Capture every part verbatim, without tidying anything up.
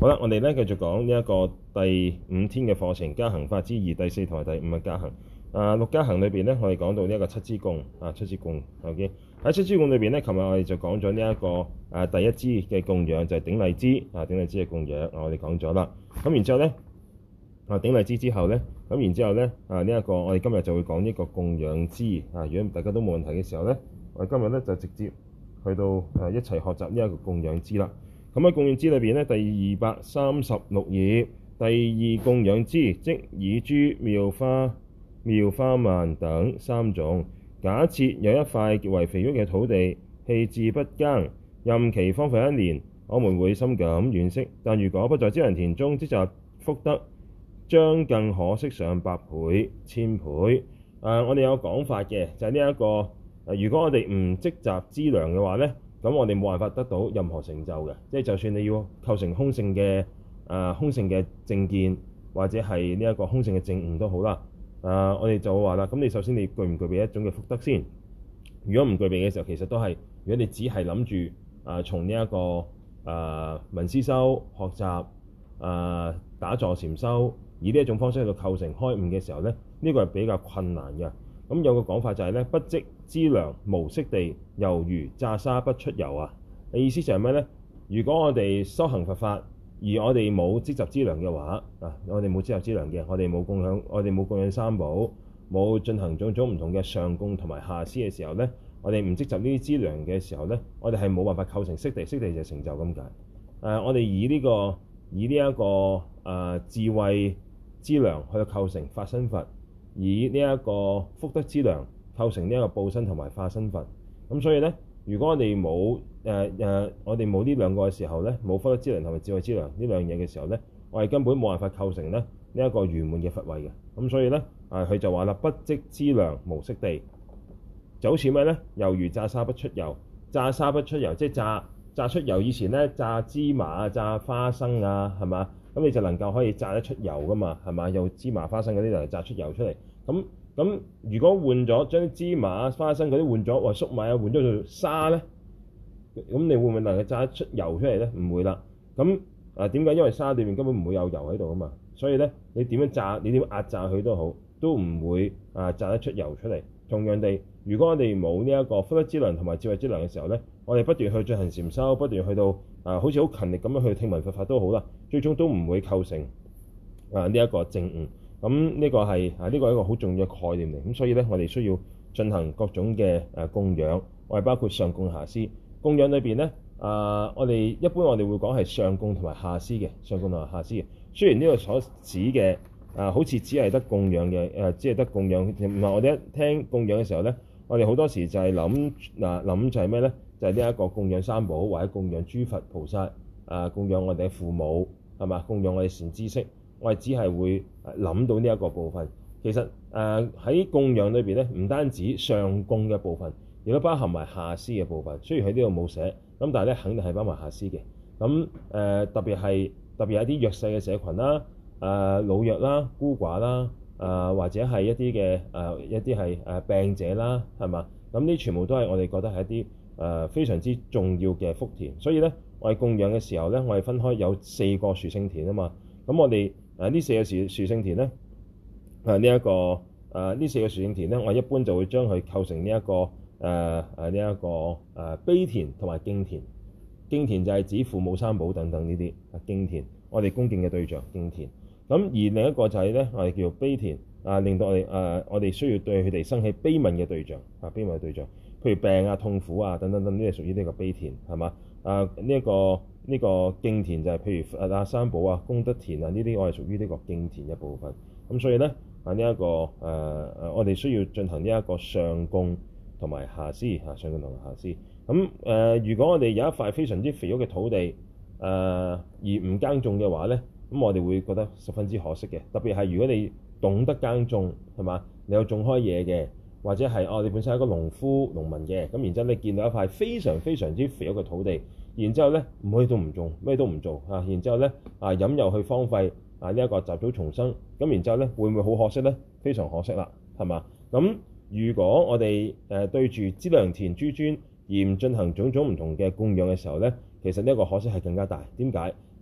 好啦，我哋咧繼續講呢一個第五天嘅課程，加行法之二，第四同埋第五嘅加行。啊，六加行裏邊咧，我哋講到呢一個七支供啊，七支供。OK，喺七支供裏邊咧，琴日我哋就講咗呢一個啊第一支嘅供養就係頂禮支啊，頂禮支嘅供養，我哋講咗啦。咁然之後咧啊頂禮支之後咧，咁然之後咧啊呢一個我哋今日就會講呢個供養支啊。如果大家都冇問題嘅時候咧，我哋今日咧就直接去到誒一齊學習呢一個供養支啦。咁喺供養支裏邊咧，第二百三十六頁，第二供養支，即以諸妙花、妙花蔓等三種。假設有一塊極為肥沃嘅土地，棄置不耕，任其荒廢一年，我們會深感惋惜。但如果不在資糧田中積集福德，將更可惜上百倍、千倍。誒、呃，我哋有講法嘅，就係呢一個誒、呃，如果我哋唔積集資糧嘅話咧。咁我哋冇辦法得到任何成就嘅，即係就算你要構成空性嘅誒、呃、空性嘅正見，或者係呢一個空性嘅證悟都好啦。誒、呃，我哋就會話啦，咁你首先你具唔具備一種嘅福德先？如果唔具備嘅時候，其實都係如果你只係諗住誒從呢一個誒聞思修學習誒、呃、打坐禪修，以呢一種方式去到構成開悟嘅時候咧，呢、這個係比較困難嘅。咁有個講法就係咧，不積資糧無色地，猶如榨沙不出油啊！意思就係咩咧？如果我哋修行佛法，而我哋冇積集資糧嘅話，啊，我哋冇積集資糧嘅，我哋冇供養，我哋冇供養三寶，冇進行種種唔同嘅上供同埋下施嘅時候咧，我哋唔積集呢啲資糧嘅時候咧，我哋係冇辦法構成色地，色地就係成就咁解。誒、啊，我哋以呢、這個以呢、這、一個誒、呃、智慧資糧去到構成法身佛。以呢一個福德資糧構成呢一個報身同埋化身佛，咁所以咧，如果我哋冇誒誒，我哋冇呢兩個嘅時候咧，冇福德資糧同埋智慧資糧呢兩樣嘢嘅時候咧，我哋根本冇辦法構成咧呢一、這個圓滿嘅佛位嘅。咁所以咧，啊佢就話啦，不積資糧無色地，就好似咩咧？猶如榨沙不出油，榨沙不出油，即係榨榨出油。以前咧榨芝麻啊、榨花生啊，係嘛？咁你就能夠可以榨得出油噶嘛，係嘛？用芝麻花生嗰啲嚟榨出油出嚟。咁咁如果換咗將啲芝麻花生嗰啲換咗，或粟米啊換咗做沙咧，咁你會唔會能夠榨得出油出嚟咧？唔會啦。咁啊點解？因為沙裏面根本唔會有油喺度啊嘛。所以咧，你點樣榨，你點樣壓榨佢都好，都唔會啊榨得出油出嚟。同樣地，如果我哋冇呢一個福德資糧同埋智慧資糧嘅時候咧，我哋不斷去進行禪修，不斷去到啊，好似好勤力咁樣去聽聞佛法都好啦，最終都唔會構成啊呢一個證悟。咁呢個係啊呢個係一個好重要嘅概念嚟。咁所以咧，我哋需要進行各種嘅誒供養，我哋包括上供下施。供養裏邊咧啊，我哋一般我哋會講係上供同埋下施嘅，上供同埋下施嘅。雖然呢個所指嘅啊，好似只係得供養嘅誒，只係得供養。唔係我哋一聽供養嘅時候咧，我哋好多時就係諗嗱諗就係咩咧？就係呢一個供養三寶，或者供養諸佛菩薩啊，供養我哋嘅父母係嘛？供養我哋善知識，我哋只係會諗到呢一個部分。其實誒喺、呃、供養裏邊咧，唔單止上供嘅部分，亦都包含埋下施嘅部分。雖然喺呢度冇寫，咁但係咧肯定係包埋下施嘅。咁誒、呃、特別係特別係一啲弱勢嘅社群啦。誒、呃、老弱啦、孤寡啦，誒、呃、或者係一啲嘅誒一啲係誒病者啦，係嘛？咁呢全部都係我哋覺得係一啲誒、呃、非常之重要嘅福田。所以咧，我哋供養嘅時候咧，我哋分開有四個殊勝田啊嘛。咁我哋誒呢四個殊殊勝田咧，誒呢一個誒呢、呃、四個殊勝田咧，我一般就會將佢構成呢、這、一個誒誒呢一個誒、呃、悲田同埋敬田。敬田就係指父母三寶等等呢啲啊，敬田我哋恭敬嘅對象敬田。咁而另一個就係咧，我哋叫做悲田啊，令到我哋誒、啊、我哋需要對佢哋生起悲憫嘅對象啊，悲憫嘅對象，譬如病啊、痛苦啊等等等，呢啲係屬於呢個悲田係嘛？啊呢一、這個呢、這個敬田就係譬如啊三寶啊、功德田啊呢啲，我係屬於呢個敬田嘅部分。咁所以咧啊呢一、這個誒誒、啊，我哋需要進行呢一個上供同埋下施啊，上供同埋下施。咁誒、呃，如果我哋有一塊非常之肥沃嘅土地誒、呃，而唔耕種嘅話咧，咁我哋會覺得十分之可惜嘅。特別係如果你懂得耕種，係嘛？你有種開嘢嘅，或者係哦，你本身係一個農夫、農民嘅，咁然之後你見到一塊非常非常之肥沃嘅土地，然之後咧唔可以都唔種，咩都唔做啊，然之後咧啊飲又去荒廢啊呢一個雜草叢生，咁然之後咧會唔會好可惜咧？非常可惜啦，係嘛？咁如果我哋誒、呃、對住資糧田諸尊而唔進行種種唔同嘅供養嘅時候咧，其實呢一個可惜係更加大。點解？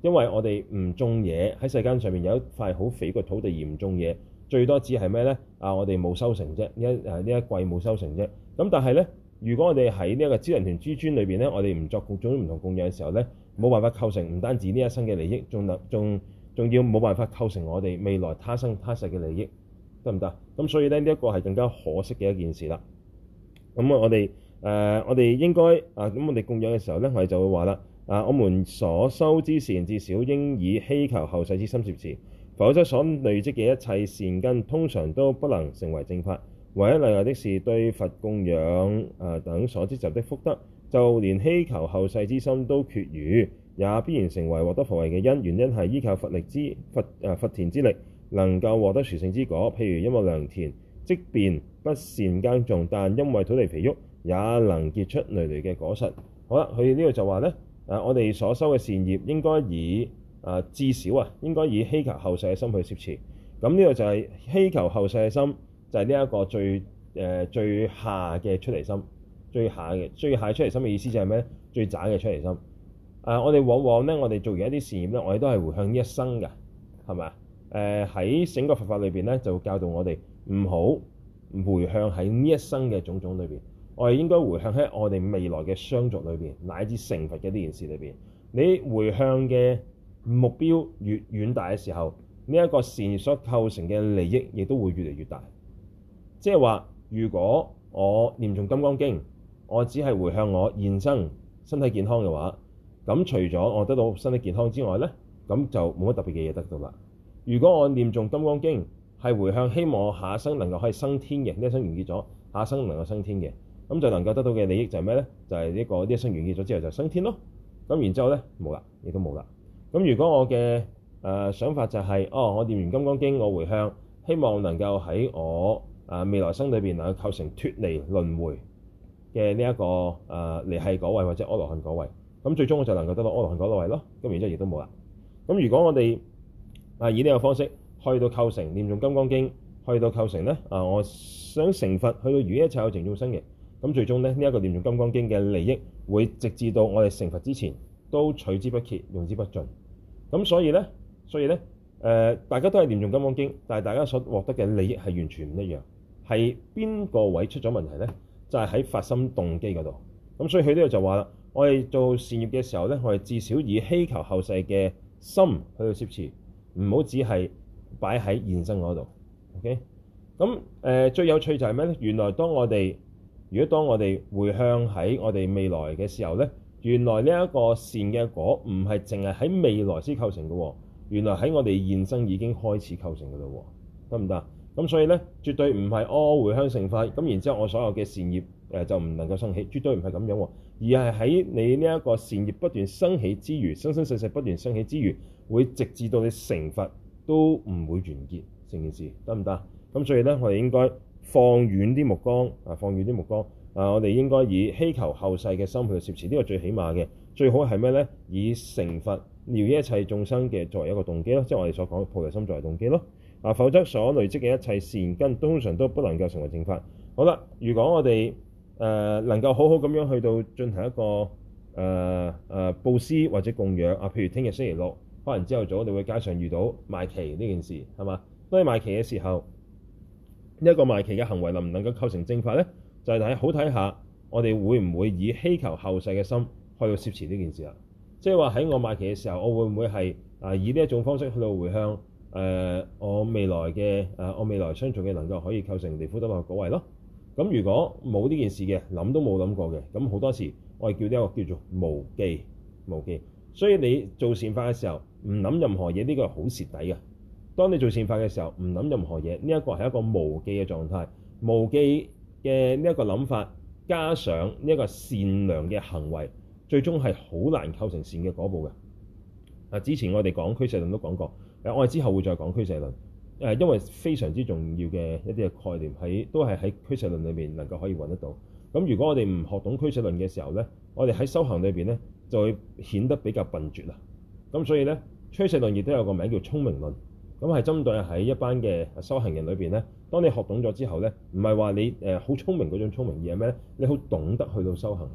因為我哋唔種嘢喺世間上面有一塊好肥個土地而唔種嘢，最多只係咩咧？啊，我哋冇收成啫，呢一誒呢一季冇收成啫。咁但係咧，如果我哋喺呢一個資糧田諸尊裏邊咧，我哋唔作各種唔同供養嘅時候咧，冇辦法構成唔單止呢一生嘅利益，仲能仲仲要冇辦法構成我哋未來他生他世嘅利益，得唔得？咁所以咧，呢一個係更加可惜嘅一件事啦。咁我哋誒、呃、我哋應該啊，咁我哋供養嘅時候咧，我哋就會話啦，啊，我們所修之善至少應以希求後世之心攝持，否則所累積嘅一切善根通常都不能成為正法。唯一例外的是對佛供養啊等所積集的福德，就連希求後世之心都缺餘，也必然成為獲得佛位嘅因。原因係依靠佛力之佛誒佛田之力，能夠獲得殊勝之果。譬如一畝良田，即便不善耕種，但因為土地肥沃，也能結出累累嘅果實。好啦，佢呢度就話咧，誒我哋所修嘅善業應該以誒、呃、至少啊，應該以希求後世嘅心去攝持。咁呢個就係希求後世嘅心。就係呢一個最誒、呃、最下嘅出離心，最下嘅最下出離心嘅意思就係咩？最渣嘅出離心。誒、呃，我哋往往咧，我哋做完一啲善業咧，我哋都係回向呢一生㗎，係咪啊？誒喺整個佛法裏邊咧，就教導我哋唔好回向喺呢一生嘅種種裏邊，我哋應該回向喺我哋未來嘅相續裏邊，乃至成佛嘅呢件事裏邊。你回向嘅目標越遠大嘅時候，呢、這、一個善業所構成嘅利益亦都會越嚟越大。即係話，如果我念誦金剛經，我只係回向我現生身體健康嘅話，咁除咗我得到身體健康之外咧，咁就冇乜特別嘅嘢得到啦。如果我念誦金剛經係回向希望我下一生能夠可以升天嘅，呢一生完結咗，下一生能夠升天嘅，咁就能夠得到嘅利益就係咩咧？就係、是、呢、這個呢一生完結咗之後就升天咯。咁然之後咧冇啦，亦都冇啦。咁如果我嘅誒、呃、想法就係、是，哦，我念完金剛經，我回向希望能夠喺我啊！未來生裏邊能夠構成脫離輪迴嘅呢一個啊離繫果位或者阿羅漢果位，咁最終我就能夠得到阿羅漢果位咯。咁然之後亦都冇啦。咁如果我哋啊以呢個方式去到構成念誦金剛經，去到構成咧啊，我想成佛，去到如一切有情眾生嘅，咁最終咧呢一、這個念誦金剛經嘅利益會直至到我哋成佛之前都取之不竭，用之不盡。咁所以咧，所以咧誒、呃，大家都係念誦金剛經，但係大家所獲得嘅利益係完全唔一樣。係邊個位出咗問題咧？就係、是、喺發心動機嗰度。咁所以佢呢度就話啦，我哋做善業嘅時候咧，我哋至少以希求後世嘅心去到攝持，唔好只係擺喺現生嗰度。OK，咁誒、呃、最有趣就係咩咧？原來當我哋如果當我哋回向喺我哋未來嘅時候咧，原來呢一個善嘅果唔係淨係喺未來先構成嘅喎，原來喺我哋現生已經開始構成嘅咯喎，得唔得？咁所以咧，絕對唔係哦回向成佛，咁然之後我所有嘅善業誒、呃、就唔能夠生起，絕對唔係咁樣喎，而係喺你呢一個善業不斷生起之餘，生生世世不斷生起之餘，會直至到你成佛都唔會完結成件事，得唔得？咁所以咧，我哋應該放遠啲目光啊，放遠啲目光啊，我哋應該以希求後世嘅心去攝持，呢、這個最起碼嘅，最好係咩咧？以成佛療一切眾生嘅作為一個動機咯，即係我哋所講菩提心作為動機咯。啊，否則所累積嘅一切善根通常都不能夠成為正法。好啦，如果我哋誒、呃、能夠好好咁樣去到進行一個誒誒、呃呃、佈施或者供養啊，譬如聽日星期六，可能朝頭早你會街上遇到賣旗呢件事，係嘛？當你賣旗嘅時候，呢、這、一個賣旗嘅行為能唔能夠構成正法咧？就係、是、睇好睇下，我哋會唔會以希求後世嘅心去到攝持呢件事啦？即係話喺我賣旗嘅時候，我會唔會係啊以呢一種方式去到回向？誒、呃，我未來嘅誒、呃，我未來相續嘅能夠可以構成離苦得樂果位咯。咁如果冇呢件事嘅，諗都冇諗過嘅，咁好多時我哋叫呢一個叫做無記，無記。所以你做善法嘅時候，唔諗任何嘢，呢、這個係好蝕底嘅。當你做善法嘅時候，唔諗任何嘢，呢、這、一個係一個無記嘅狀態。無記嘅呢一個諗法，加上呢一個善良嘅行為，最終係好難構成善嘅果報嘅。啊，之前我哋講俱舍論都講過。誒，我哋之後會再講俱舍論，誒，因為非常之重要嘅一啲嘅概念喺，都係喺俱舍論裏面能夠可以揾得到。咁如果我哋唔學懂俱舍論嘅時候咧，我哋喺修行裏邊咧就會顯得比較笨拙啦。咁所以咧，俱舍論亦都有個名叫聰明論，咁係針對喺一班嘅修行人裏邊咧，當你學懂咗之後咧，唔係話你誒好聰明嗰種聰明，而係咩咧？你好懂得去到修行啊！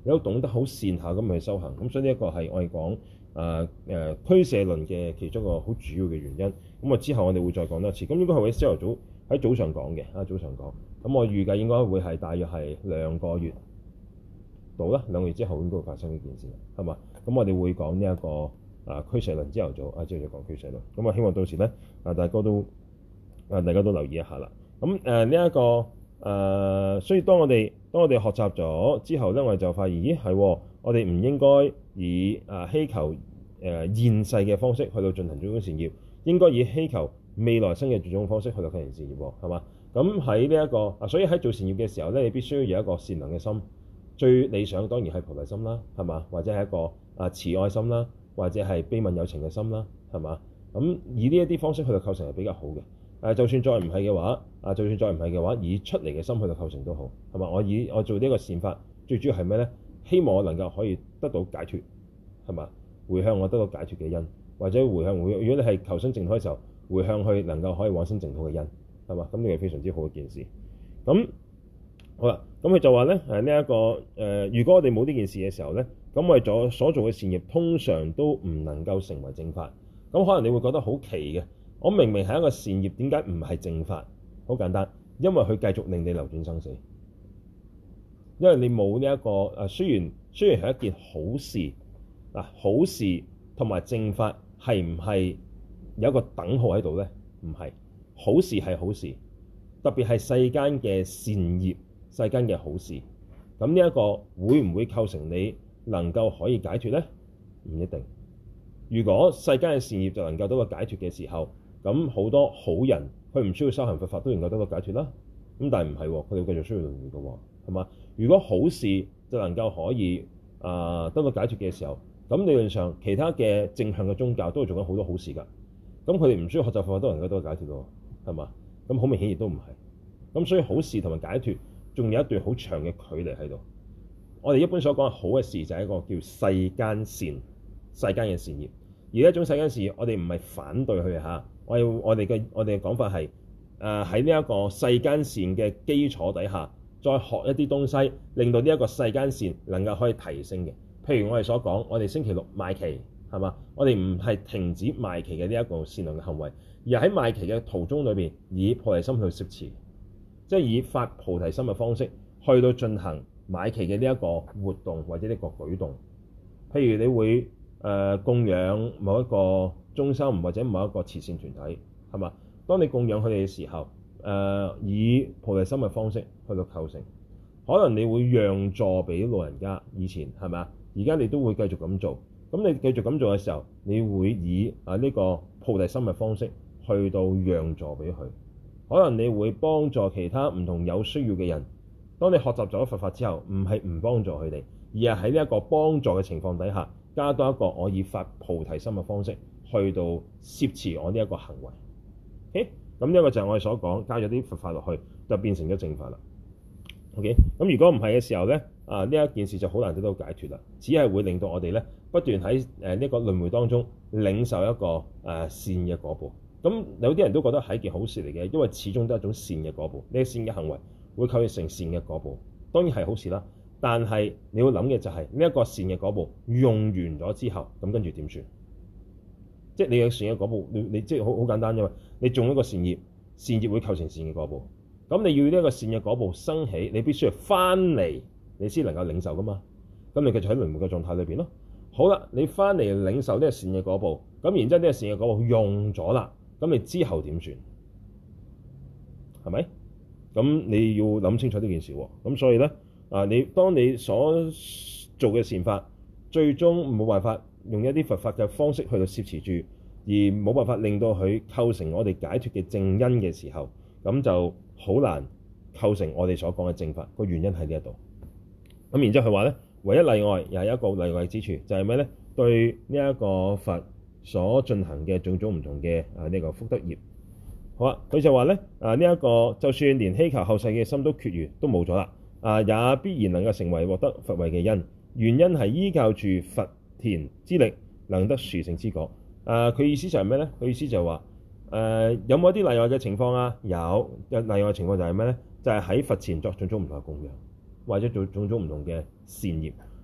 你都懂得好善巧咁去修行。咁所以呢一個係我哋講誒誒俱舍論嘅其中一個好主要嘅原因。咁啊之後我哋會再講多次。咁應該係會朝頭早喺早上講嘅啊，早上講。咁我預計應該會係大約係兩個月到啦，兩個月之後應該會發生呢件事，係嘛？咁我哋會講呢一個啊俱舍論，朝頭早啊朝頭早講俱舍論。咁啊希望到時咧啊大家都啊大家都留意一下啦。咁誒呢一個誒、呃，所以當我哋當我哋學習咗之後咧，我哋就發現，咦係，我哋唔應該以啊希求誒、呃、現世嘅方式去到進行種種善業，應該以希求未來生嘅種種方式去到進行善業，係嘛？咁喺呢一個啊，所以喺做善業嘅時候咧，你必須要有一個善良嘅心。最理想當然係菩提心啦，係嘛？或者係一個啊慈愛心啦，或者係悲憫有情嘅心啦，係嘛？咁以呢一啲方式去到構成係比較好嘅。誒，就算再唔係嘅話，啊，就算再唔係嘅話，以出嚟嘅心去到構成都好，係嘛？我以我做呢一個善法，最主要係咩咧？希望我能夠可以得到解脫，係嘛？回向我得到解脫嘅因，或者回向回，如果你係求生淨土嘅時候，回向去能夠可以往生淨土嘅因，係嘛？咁呢個非常之好嘅件事。咁好啦，咁佢就話咧，誒呢一個誒、呃，如果我哋冇呢件事嘅時候咧，咁我哋做所做嘅善業通常都唔能夠成為正法。咁可能你會覺得好奇嘅，我明明係一個善業，點解唔係正法？好簡單，因為佢繼續令你流轉生死，因為你冇呢一個誒，雖然雖然係一件好事嗱，好事同埋正法係唔係有一個等號喺度咧？唔係，好事係好事，特別係世間嘅善業。世間嘅好事，咁呢一個會唔會構成你能夠可以解脫呢？唔一定。如果世間嘅善業就能夠得到解脫嘅時候，咁好多好人佢唔需要修行佛法都能夠得到解脫啦。咁但係唔係喎，佢哋繼續需要輪迴嘅喎，係嘛？如果好事就能夠可以啊、呃、得到解脫嘅時候，咁理論上其他嘅正向嘅宗教都係做緊好多好事㗎。咁佢哋唔需要學習佛法都能夠得到解脫喎，係嘛？咁好明顯亦都唔係。咁所以好事同埋解脫仲有一段好長嘅距離喺度。我哋一般所講嘅好嘅事就係一個叫世間善、世間嘅善業。而呢一種世間善業，我哋唔係反對佢嚇。我哋我哋嘅我哋嘅講法係誒喺呢一個世間善嘅基礎底下，再學一啲東西，令到呢一個世間善能夠可以提升嘅。譬如我哋所講，我哋星期六賣旗係嘛？我哋唔係停止賣旗嘅呢一個善良嘅行為，而喺賣旗嘅途中裏邊，以菩提心去攝持。即係以發菩提心嘅方式去到進行買旗嘅呢一個活動或者呢個舉動。譬如你會誒、呃、供養某一個中心或者某一個慈善團體，係嘛？當你供養佢哋嘅時候，誒、呃、以菩提心嘅方式去到構成，可能你會讓座俾老人家。以前係咪啊？而家你都會繼續咁做。咁你繼續咁做嘅時候，你會以啊呢個菩提心嘅方式去到讓座俾佢。可能你會幫助其他唔同有需要嘅人。當你學習咗佛法之後，唔係唔幫助佢哋，而係喺呢一個幫助嘅情況底下，加多一個我以發菩提心嘅方式去到攝持我呢一個行為。誒，咁呢一個就係我哋所講加咗啲佛法落去，就變成咗正法啦。OK，咁如果唔係嘅時候咧，啊呢一件事就好難得到解脫啦，只係會令到我哋咧不斷喺誒呢個輪迴當中領受一個誒、呃、善嘅果報。咁有啲人都覺得係一件好事嚟嘅，因為始終都係一種善嘅果報。呢個善嘅行為會構成善嘅果報，當然係好事啦。但係你要諗嘅就係呢一個善嘅果報用完咗之後，咁跟住點算？即係你有善嘅果報，你你即係好好簡單啫嘛。你種一個善業，善業會構成善嘅果報。咁你要呢一個善嘅果報生起，你必須要翻嚟，你先能夠領受噶嘛。咁你繼續喺輪迴嘅狀態裏邊咯。好啦，你翻嚟領受呢個善嘅果報，咁然之後呢個善嘅果報用咗啦。咁你之後點算？係咪？咁你要諗清楚呢件事喎。咁所以咧，啊，你當你所做嘅善法，最終冇辦法用一啲佛法嘅方式去到攝持住，而冇辦法令到佢構成我哋解脫嘅正因嘅時候，咁就好難構成我哋所講嘅正法。個原因喺呢一度。咁然之後佢話咧，唯一例外又係一個例外之處，就係咩咧？對呢一個佛所進行嘅種種唔同嘅啊呢個福德業，好啊，佢就話咧啊呢一個就算連希求後世嘅心都缺餘，都冇咗啦，啊也必然能夠成為獲得佛位嘅因。原因係依靠住佛田之力，能得殊勝之果。啊，佢意思就係咩咧？佢意思就係話誒有冇一啲例外嘅情況啊？有，有例外嘅情況就係咩咧？就係、是、喺佛前作種種唔同嘅供養，或者做種種唔同嘅善業。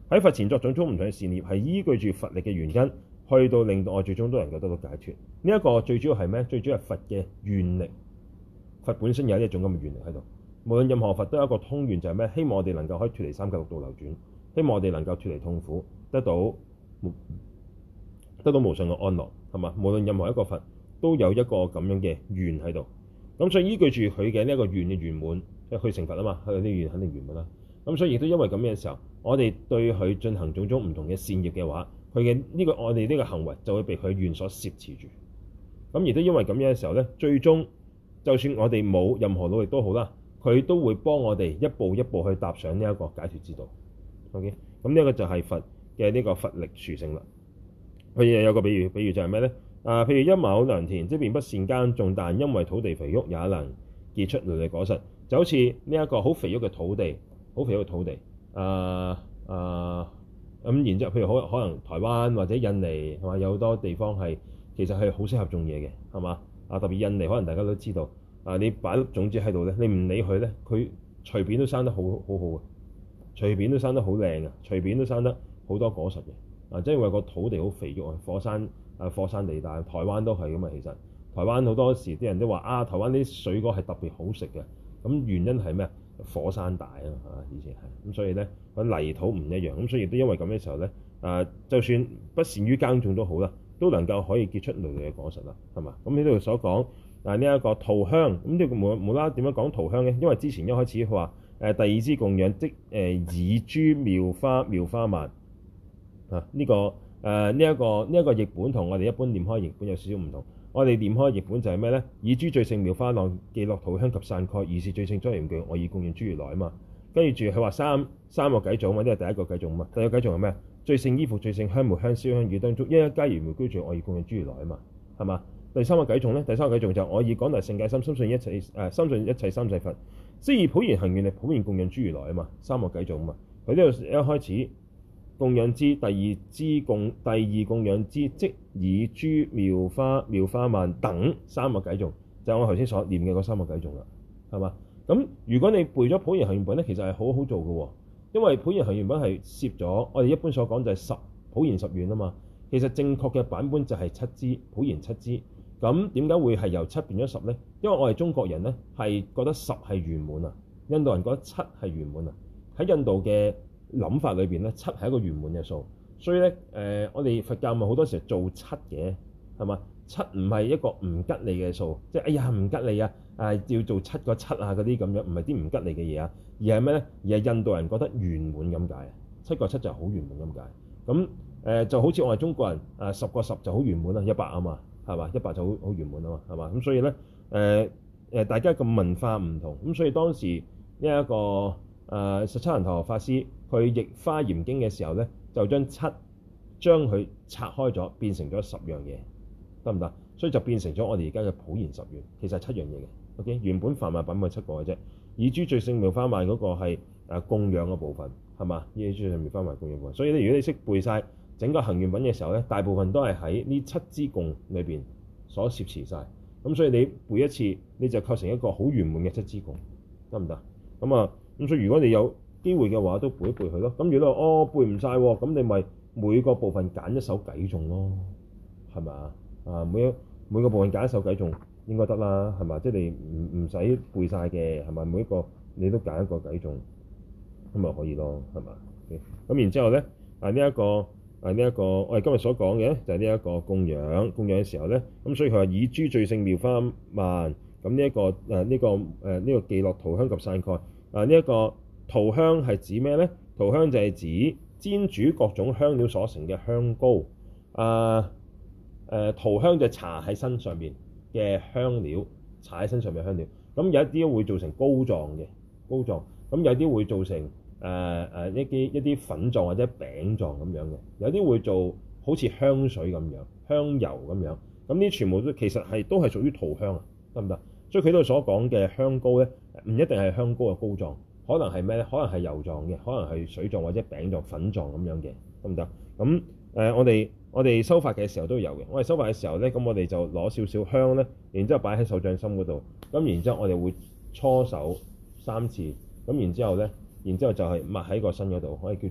喺佛前作種種唔同嘅善業，係依據住佛力嘅原因，去到令到我最終都能夠得到解脫。呢、這、一個最主要係咩？最主要係佛嘅願力。佛本身有一種咁嘅願力喺度。無論任何佛都有一個通願，就係咩？希望我哋能夠可以脫離三界六道流轉，希望我哋能夠脫離痛苦，得到得到無上嘅安樂，係嘛？無論任何一個佛都有一個咁樣嘅願喺度。咁所以依據住佢嘅呢一個願嘅圓滿，即係佢成佛啊嘛，佢啲願肯定圓滿啦。咁所以亦都因為咁嘅時候，我哋對佢進行種種唔同嘅善業嘅話，佢嘅呢個我哋呢個行為就會被佢願所攝持住。咁亦都因為咁樣嘅時候咧，最終就算我哋冇任何努力都好啦，佢都會幫我哋一步一步去踏上呢一個解脫之道。OK，咁呢一個就係佛嘅呢個佛力殊勝啦。佢又有個比喻，比喻就係咩咧？啊，譬如一畝良田，即便不善耕種，但因為土地肥沃，也能結出累累果實。就好似呢一個好肥沃嘅土地，好肥沃嘅土地。啊啊咁，然之後譬如可可能台灣或者印尼係嘛，有好多地方係其實係好適合種嘢嘅，係嘛？啊，特別印尼可能大家都知道，啊你擺粒種子喺度咧，你唔理佢咧，佢隨便都生得好好好嘅，隨便都生得好靚嘅，隨便都生得好多果實嘅。啊，即係因為個土地好肥沃啊，火山啊火山地帶，台灣都係咁啊。其實台灣好多時啲人都話啊，台灣啲水果係特別好食嘅。咁原因係咩？火山大啊嘛，以前係咁，所以咧個泥土唔一樣，咁所以都因為咁嘅時候咧，啊就算不善於耕種都好啦，都能夠可以結出累累嘅果實啦，係嘛？咁呢度所講啊呢一個塗香，咁呢個無無啦點樣講塗香咧？因為之前一開始佢話誒第二支供養即誒、呃、以諸妙花妙花鬘啊，呢、這個誒呢一個呢一、這個譯本同我哋一般念開譯本有少少唔同。我哋念開譯本就係咩咧？以諸最勝妙花浪，伎樂塗香及散蓋，如是最勝莊嚴具，我以供養諸如來啊嘛。跟住住佢話三三個偈頌嘛，呢係第一個偈頌嘛。第二個偈頌係咩？最勝衣服、最勝香末、香燒香與燈燭，一一皆如妙居住，我以供養諸如來啊嘛，係嘛？第三個偈頌咧，第三個偈頌就我以廣大聖戒心，深信一切誒、呃，深信一切三世佛，雖以普賢行願力，普遍供養諸如來啊嘛。三個偈頌啊嘛。佢呢度一開始。供養之第二支供第二供養之，即以諸妙花妙花鬘等三個偈頌，就係、是、我頭先所念嘅嗰三個偈頌啦，係嘛？咁如果你背咗普賢行願品咧，其實係好好做嘅喎，因為普賢行願品係攝咗我哋一般所講就係十普賢十願啊嘛。其實正確嘅版本就係七支普賢七支。咁點解會係由七變咗十咧？因為我哋中國人咧係覺得十係圓滿啊，印度人覺得七係圓滿啊。喺印度嘅諗法裏邊咧，七係一個圓滿嘅數，所以咧誒、呃，我哋佛教咪好多時候做七嘅，係嘛？七唔係一個唔吉利嘅數，即係哎呀唔吉利啊，誒要做七個七啊嗰啲咁樣，唔係啲唔吉利嘅嘢啊，而係咩咧？而係印度人覺得圓滿咁解，七個七就好圓滿咁解。咁誒、呃、就好似我哋中國人誒十個十就好圓滿啦，一百啊嘛，係嘛？一百就好好圓滿啊嘛，係嘛？咁所以咧誒誒大家嘅文化唔同，咁所以當時呢、這、一個誒、呃、十七難陀法師。佢譯《華嚴經》嘅時候咧，就將七將佢拆開咗，變成咗十樣嘢，得唔得？所以就變成咗我哋而家嘅普賢十願，其實係七樣嘢嘅。O.K. 原本梵文版本係七個嘅啫。以諸最勝妙花鬘嗰個係誒供養嘅部分，係嘛？以諸最勝妙花鬘供養部分。所以咧，如果你識背晒整個行願品嘅時候咧，大部分都係喺呢七支供裏邊所攝持晒。咁所以你背一次，你就構成一個好圓滿嘅七支供，得唔得？咁啊，咁所以如果你有機會嘅話都背一背佢咯。咁如果哦背唔晒喎，咁你咪每個部分揀一首偈頌咯，係咪啊？啊每一每個部分揀一首偈頌應該得啦，係嘛？即係你唔唔使背晒嘅，係咪？每一個你都揀一個偈頌，咁咪可以咯，係嘛？咁然之後咧啊呢一個啊呢一個我哋今日所講嘅就係呢一個供養供養嘅時候咧，咁所以佢話以諸最勝妙花鬘，咁呢一個誒呢、啊這個誒呢、啊這個伎樂塗香及散蓋啊呢一、這個。塗香係指咩咧？塗香就係指煎煮各種香料所成嘅香膏。啊誒，塗香就係搽喺身上邊嘅香料，搽喺身上邊嘅香料。咁有一啲會做成膏狀嘅膏狀，咁有啲會做成誒誒、呃、一啲一啲粉狀或者餅狀咁樣嘅，有啲會做好似香水咁樣、香油咁樣。咁呢全部都其實係都係屬於塗香啊，得唔得？所以佢度所講嘅香膏咧，唔一定係香膏嘅膏狀。可能係咩咧？可能係油狀嘅，可能係水狀或者餅狀、粉狀咁樣嘅，得唔得？咁誒、呃，我哋我哋修法嘅時候都有嘅。我哋修法嘅時候咧，咁我哋就攞少少香咧，然之後擺喺手掌心嗰度。咁然之後我哋會搓手三次。咁然之後咧，然之後就係抹喺個身嗰度，可以叫做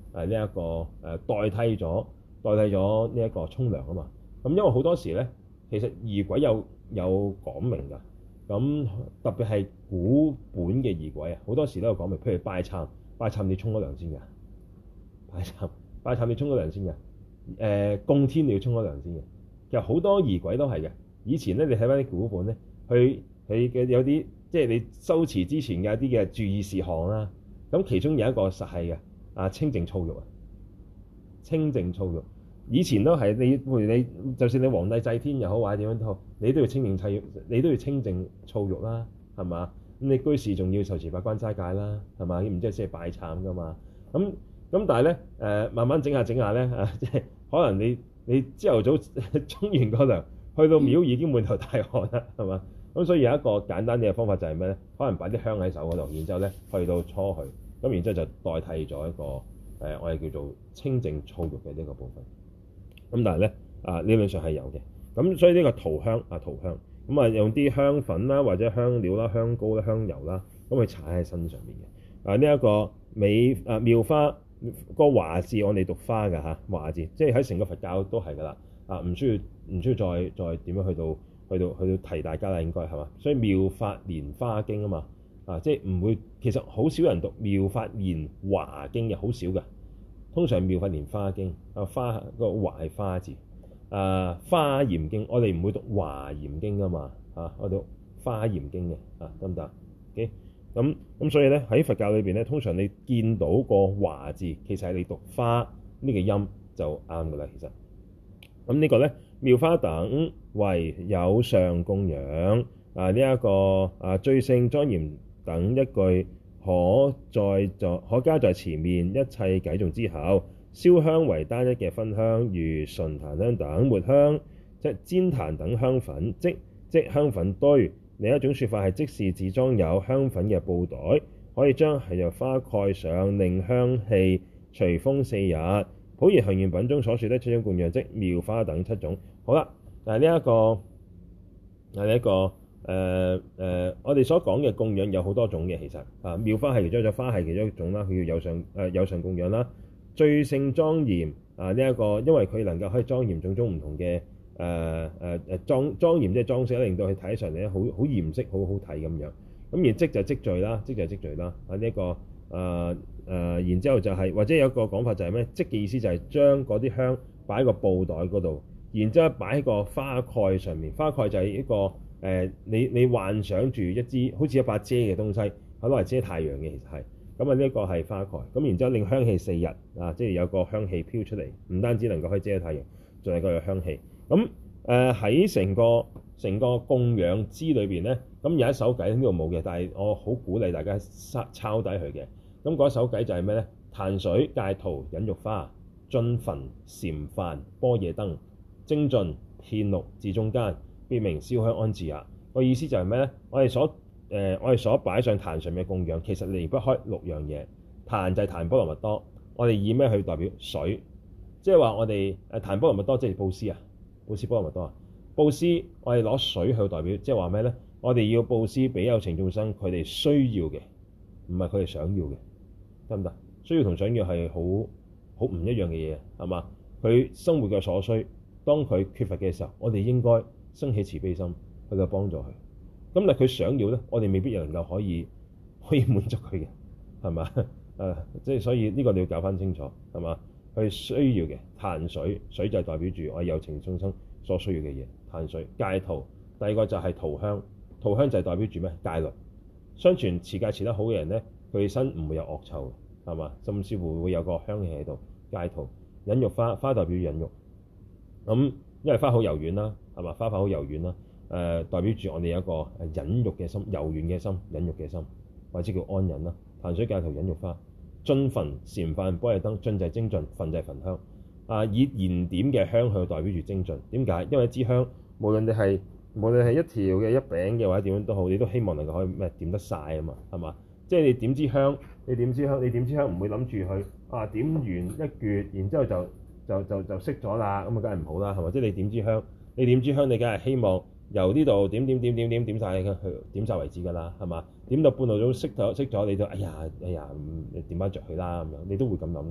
誒呢一個誒、呃、代替咗代替咗呢一個沖涼啊嘛。咁因為好多時咧，其實儀軌有有講明㗎。咁特別係古本嘅儀軌啊，好多時都有講明，譬如拜懺，拜懺你沖咗涼先㗎，拜懺拜懺你沖咗涼先㗎。誒、呃、供天你要沖咗涼先嘅。其實好多儀軌都係嘅。以前咧，你睇翻啲古本咧，佢佢嘅有啲即係你修持之前嘅一啲嘅注意事項啦。咁其中有一個實係嘅啊，清淨澡浴啊，清淨澡浴。以前都係你，譬如你，就算你皇帝祭天又好，或者點樣都好，你都要清淨澡浴，你都要清淨澡浴啦，係嘛？咁你居士仲要受持八關齋戒啦，係嘛？然之後先係拜懺噶嘛。咁咁但係咧誒，慢慢整下整下咧啊，即係可能你你朝頭早沖完個涼，去到廟已經滿頭大汗啦，係嘛？咁所以有一個簡單啲嘅方法就係咩咧？可能擺啲香喺手嗰度，然之後咧去到搓佢，咁然之後就代替咗一個誒、呃、我哋叫做清淨澡浴嘅呢個部分。咁但係咧啊，理論上係有嘅。咁所以呢個塗香啊，塗香咁啊，用啲香粉啦，或者香料啦、香膏啦、香油啦，咁去搽喺身上面嘅。啊，呢、這、一個美啊妙花個華字，我哋讀花㗎嚇，華字即係喺成個佛教都係㗎啦。啊，唔需要唔需要再再點樣去到去到去到提大家啦，應該係嘛？所以妙法蓮花經啊嘛，啊即係唔會，其實好少人讀妙法蓮華經嘅，好少㗎。通常妙法蓮花經啊，花個華係花字啊，華嚴經我哋唔會讀華嚴經㗎嘛，啊我讀華嚴經嘅啊，得唔得？OK，咁咁所以咧喺佛教裏邊咧，通常你見到個華字，其實係你讀花呢個音就啱㗎啦。其實咁呢個咧妙花等為有上供養啊，呢、這、一個啊最勝莊嚴等一句。可在在可加在前面一切偈頌之後，燒香為單一嘅分香，如純檀香等末香，即煎檀等香粉，即即香粉堆。另一種說法係，即是自裝有香粉嘅布袋，可以將係由花蓋上，令香氣隨風四日。普賢行願品中所說的七種供養，即妙花等七種。好啦，嗱呢一個嗱呢一個。誒誒、呃呃，我哋所講嘅供養有好多種嘅，其實啊，妙花係其中一種，花係其中一種啦。佢叫有上誒、呃、有上供養啦，最勝莊嚴啊呢一、這個，因為佢能夠可以莊嚴種種唔同嘅誒誒誒莊莊嚴，即係裝飾，令到佢睇上嚟咧好好嚴飾，好好睇咁樣。咁而積就積聚啦，積就積聚啦。啊呢一、這個誒誒、呃呃，然之後就係、是、或者有一個講法就係咩？積嘅意思就係將嗰啲香擺喺個布袋嗰度，然之後擺喺個花蓋上面。花蓋就係一個。誒、呃，你你幻想住一支好似一把遮嘅東西，係攞嚟遮太陽嘅，其實係咁啊。呢一個係花蓋，咁然之後令香氣四日啊，即係有個香氣飄出嚟，唔單止能夠可以遮太陽，仲係個有香氣。咁誒喺成個成個供養支裏邊咧，咁有一首偈呢度冇嘅，但係我好鼓勵大家抄低佢嘅。咁嗰首偈就係咩咧？檀水戒塗忍辱花，樽焚禪梵般若燈，精進遍六至中間，別名燒香安置也。個意思就係咩咧？我哋所誒、呃、我哋所擺上壇上嘅供養，其實離不開六樣嘢。壇就係檀波羅蜜多，我哋以咩去代表水？即係話我哋誒檀波羅蜜多即係布施啊，布施波羅蜜多啊。布施我哋攞水去代表，即係話咩咧？我哋要布施俾有情眾生，佢哋需要嘅，唔係佢哋想要嘅，得唔得？需要同想要係好好唔一樣嘅嘢，係嘛？佢生活嘅所需，當佢缺乏嘅時候，我哋應該生起慈悲心去到幫助佢。咁但佢想要咧，我哋未必能夠可以可以滿足佢嘅，係嘛？誒，即係所以呢個你要搞翻清楚，係嘛？佢需要嘅檀水，水就係代表住我有情眾生所需要嘅嘢。檀水戒塗，第二個就係塗香，塗香就係代表住咩？戒律。相傳持戒持得好嘅人咧，佢身唔會有惡臭，係嘛？甚至乎會有個香氣喺度。戒塗忍辱花，花代表忍辱。咁因為花好柔軟啦，係嘛？花瓣好柔軟啦，誒、呃、代表住我哋有一個忍辱嘅心、柔軟嘅心、忍辱嘅心，或者叫安忍啦。檀水戒塗忍辱花，樽焚禪梵般若燈，樽就係精進，焚就係焚香。啊，以燃點嘅香去代表住精進。點解？因為一支香，無論你係無論係一條嘅一餅嘅或者點樣都好，你都希望能夠可以咩點得晒啊嘛，係嘛？即係你點支香，你點支香，你點支香唔會諗住去啊點完一撅，然之後就就就就熄咗啦，咁啊梗係唔好啦，係嘛？即係你點支香，你點支香，你梗係希望由呢度點點點點點點曬去點曬為止㗎啦，係嘛？點到半路都熄咗熄咗，你就哎呀哎呀，你點翻着佢啦咁樣，你都會咁諗㗎。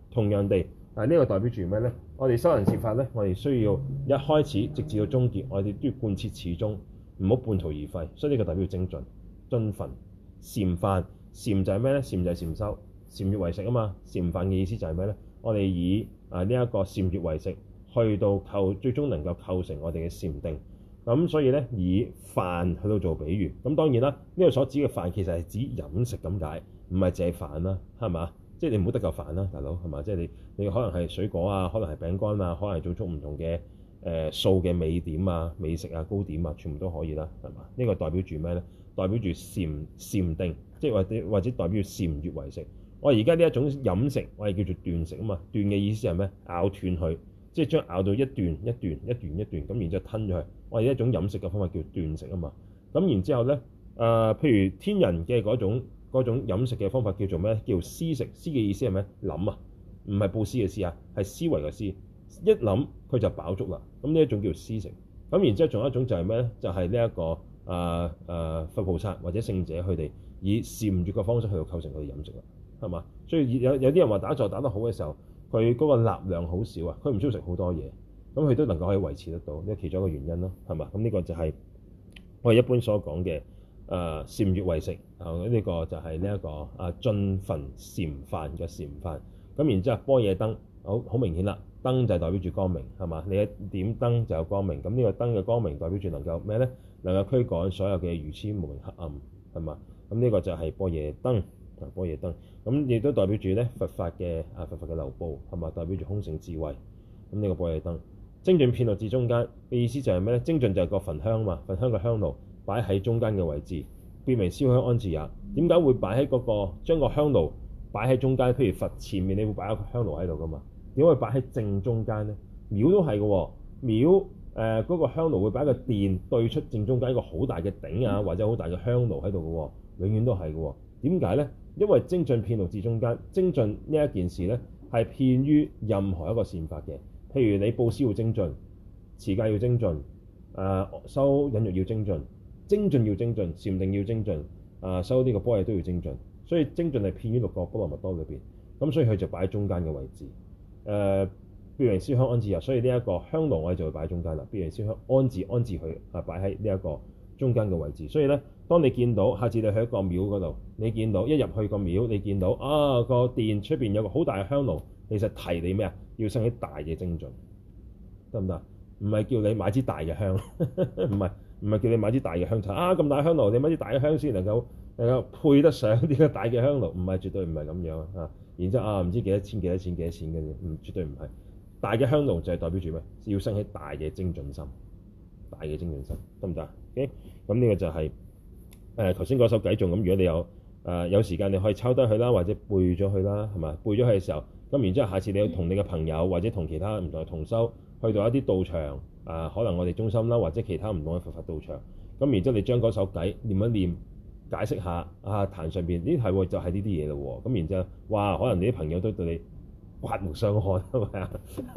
同樣地，啊呢、這個代表住咩咧？我哋修行善法咧，我哋需要一開始直至到終結，我哋都要貫徹始終，唔好半途而廢。所以呢個代表精進、遵分、禪犯。禪就係咩咧？禪就係禪修，禪悅為食啊嘛。禪犯嘅意思就係咩咧？我哋以啊呢一個禪悅為食，去到構最終能夠構成我哋嘅禪定。咁所以咧，以飯去到做比喻。咁當然啦，呢個所指嘅飯其實係指飲食咁解，唔係淨係飯啦，係嘛？即係你唔好得嚿飯啦，大佬係嘛？即係你你可能係水果啊，可能係餅乾啊，可能係做出唔同嘅誒素嘅美點啊、美食啊、糕點啊，全部都可以啦，係嘛？呢個代表住咩咧？代表住禪禪定，即係或者或者代表禪悅為食。我而家呢一種飲食，我係叫做斷食啊嘛。斷嘅意思係咩？咬斷佢。即係將咬到一段一段一段一段咁，然之後吞咗去。我哋一種飲食嘅方法叫斷食啊嘛。咁然之後咧，誒、呃，譬如天人嘅嗰種嗰種飲食嘅方法叫做咩？叫思食。思嘅意思係咩？諗啊，唔係布施嘅思啊，係思維嘅思。一諗佢就飽足啦。咁呢一種叫思食。咁然之後仲有一種就係咩咧？就係呢一個誒誒、呃呃、佛菩薩或者聖者佢哋以禪悅嘅方式去到構成佢哋飲食啦，係嘛？所以有有啲人話打坐打得好嘅時候，佢嗰個納量好少啊，佢唔需要食好多嘢，咁佢都能夠可以維持得到，呢個其中一個原因咯，係嘛？咁呢個就係我哋一般所講嘅誒禪悅為食啊，呢、呃這個就係呢一個啊盡分禪犯嘅禪犯。咁然之後般若燈好好明顯啦，燈就係代表住光明，係嘛？你一點燈就有光明，咁呢個燈嘅光明代表住能夠咩咧？能夠驅趕所有嘅愚痴無明黑暗，係嘛？咁呢個就係般若燈。啊，般若燈咁亦都代表住咧佛法嘅啊佛法嘅流布，係嘛？代表住空性智慧。咁呢個般若燈精進遍落至中間嘅意思就係咩咧？精進就係個焚香嘛，焚香嘅香爐擺喺中間嘅位置，別名燒香安置也。點解會擺喺嗰個將個香爐擺喺中間？譬如佛前面你會擺一個香爐喺度噶嘛？點解會擺喺正中間咧？廟都係嘅喎，廟誒嗰、呃那個香爐會擺個殿對出正中間一個好大嘅頂啊，或者好大嘅香爐喺度嘅喎，永遠都係嘅喎。點解咧？因為精進遍落至中間，精進呢一件事咧係遍於任何一個善法嘅。譬如你布施要精進，持戒要精進，誒、呃、修忍辱要精進，精進要精進，禪定要精進，誒、呃、修呢個般若都要精進。所以精進係遍於六個波羅蜜多裏邊，咁所以佢就擺喺中間嘅位置。誒別名燒香安置也，所以呢一個香爐我哋就會擺喺中間啦。別名燒香安置安置佢啊，擺喺呢一個中間嘅位置。所以咧，當你見到下次你去一個廟嗰度，你見到一入去個廟，你見到啊個殿出邊有個好大嘅香爐，其實提你咩啊？要生起大嘅精進，得唔得？唔係叫你買支大嘅香，唔係唔係叫你買支大嘅香，啊咁大香爐，你買支大嘅香先能夠能夠配得上呢個大嘅香爐，唔係，絕對唔係咁樣啊！然之後啊，唔知幾多錢幾多錢幾多錢嘅啫，唔絕對唔係。大嘅香爐就係代表住咩？要生起大嘅精進心，大嘅精進心，得唔得？OK，咁呢個就係誒頭先嗰首偈頌咁。如果你有誒、呃、有時間，你可以抄低佢啦，或者背咗佢啦，係嘛？背咗佢嘅時候，咁然之後下次你要同你嘅朋友或者同其他唔同嘅同修去到一啲道場啊、呃，可能我哋中心啦，或者其他唔同嘅佛法道場，咁然之後你將嗰首偈念一念，解釋下啊壇上邊呢係就係呢啲嘢咯喎，咁然之後哇，可能你啲朋友都對你刮目相看，係咪啊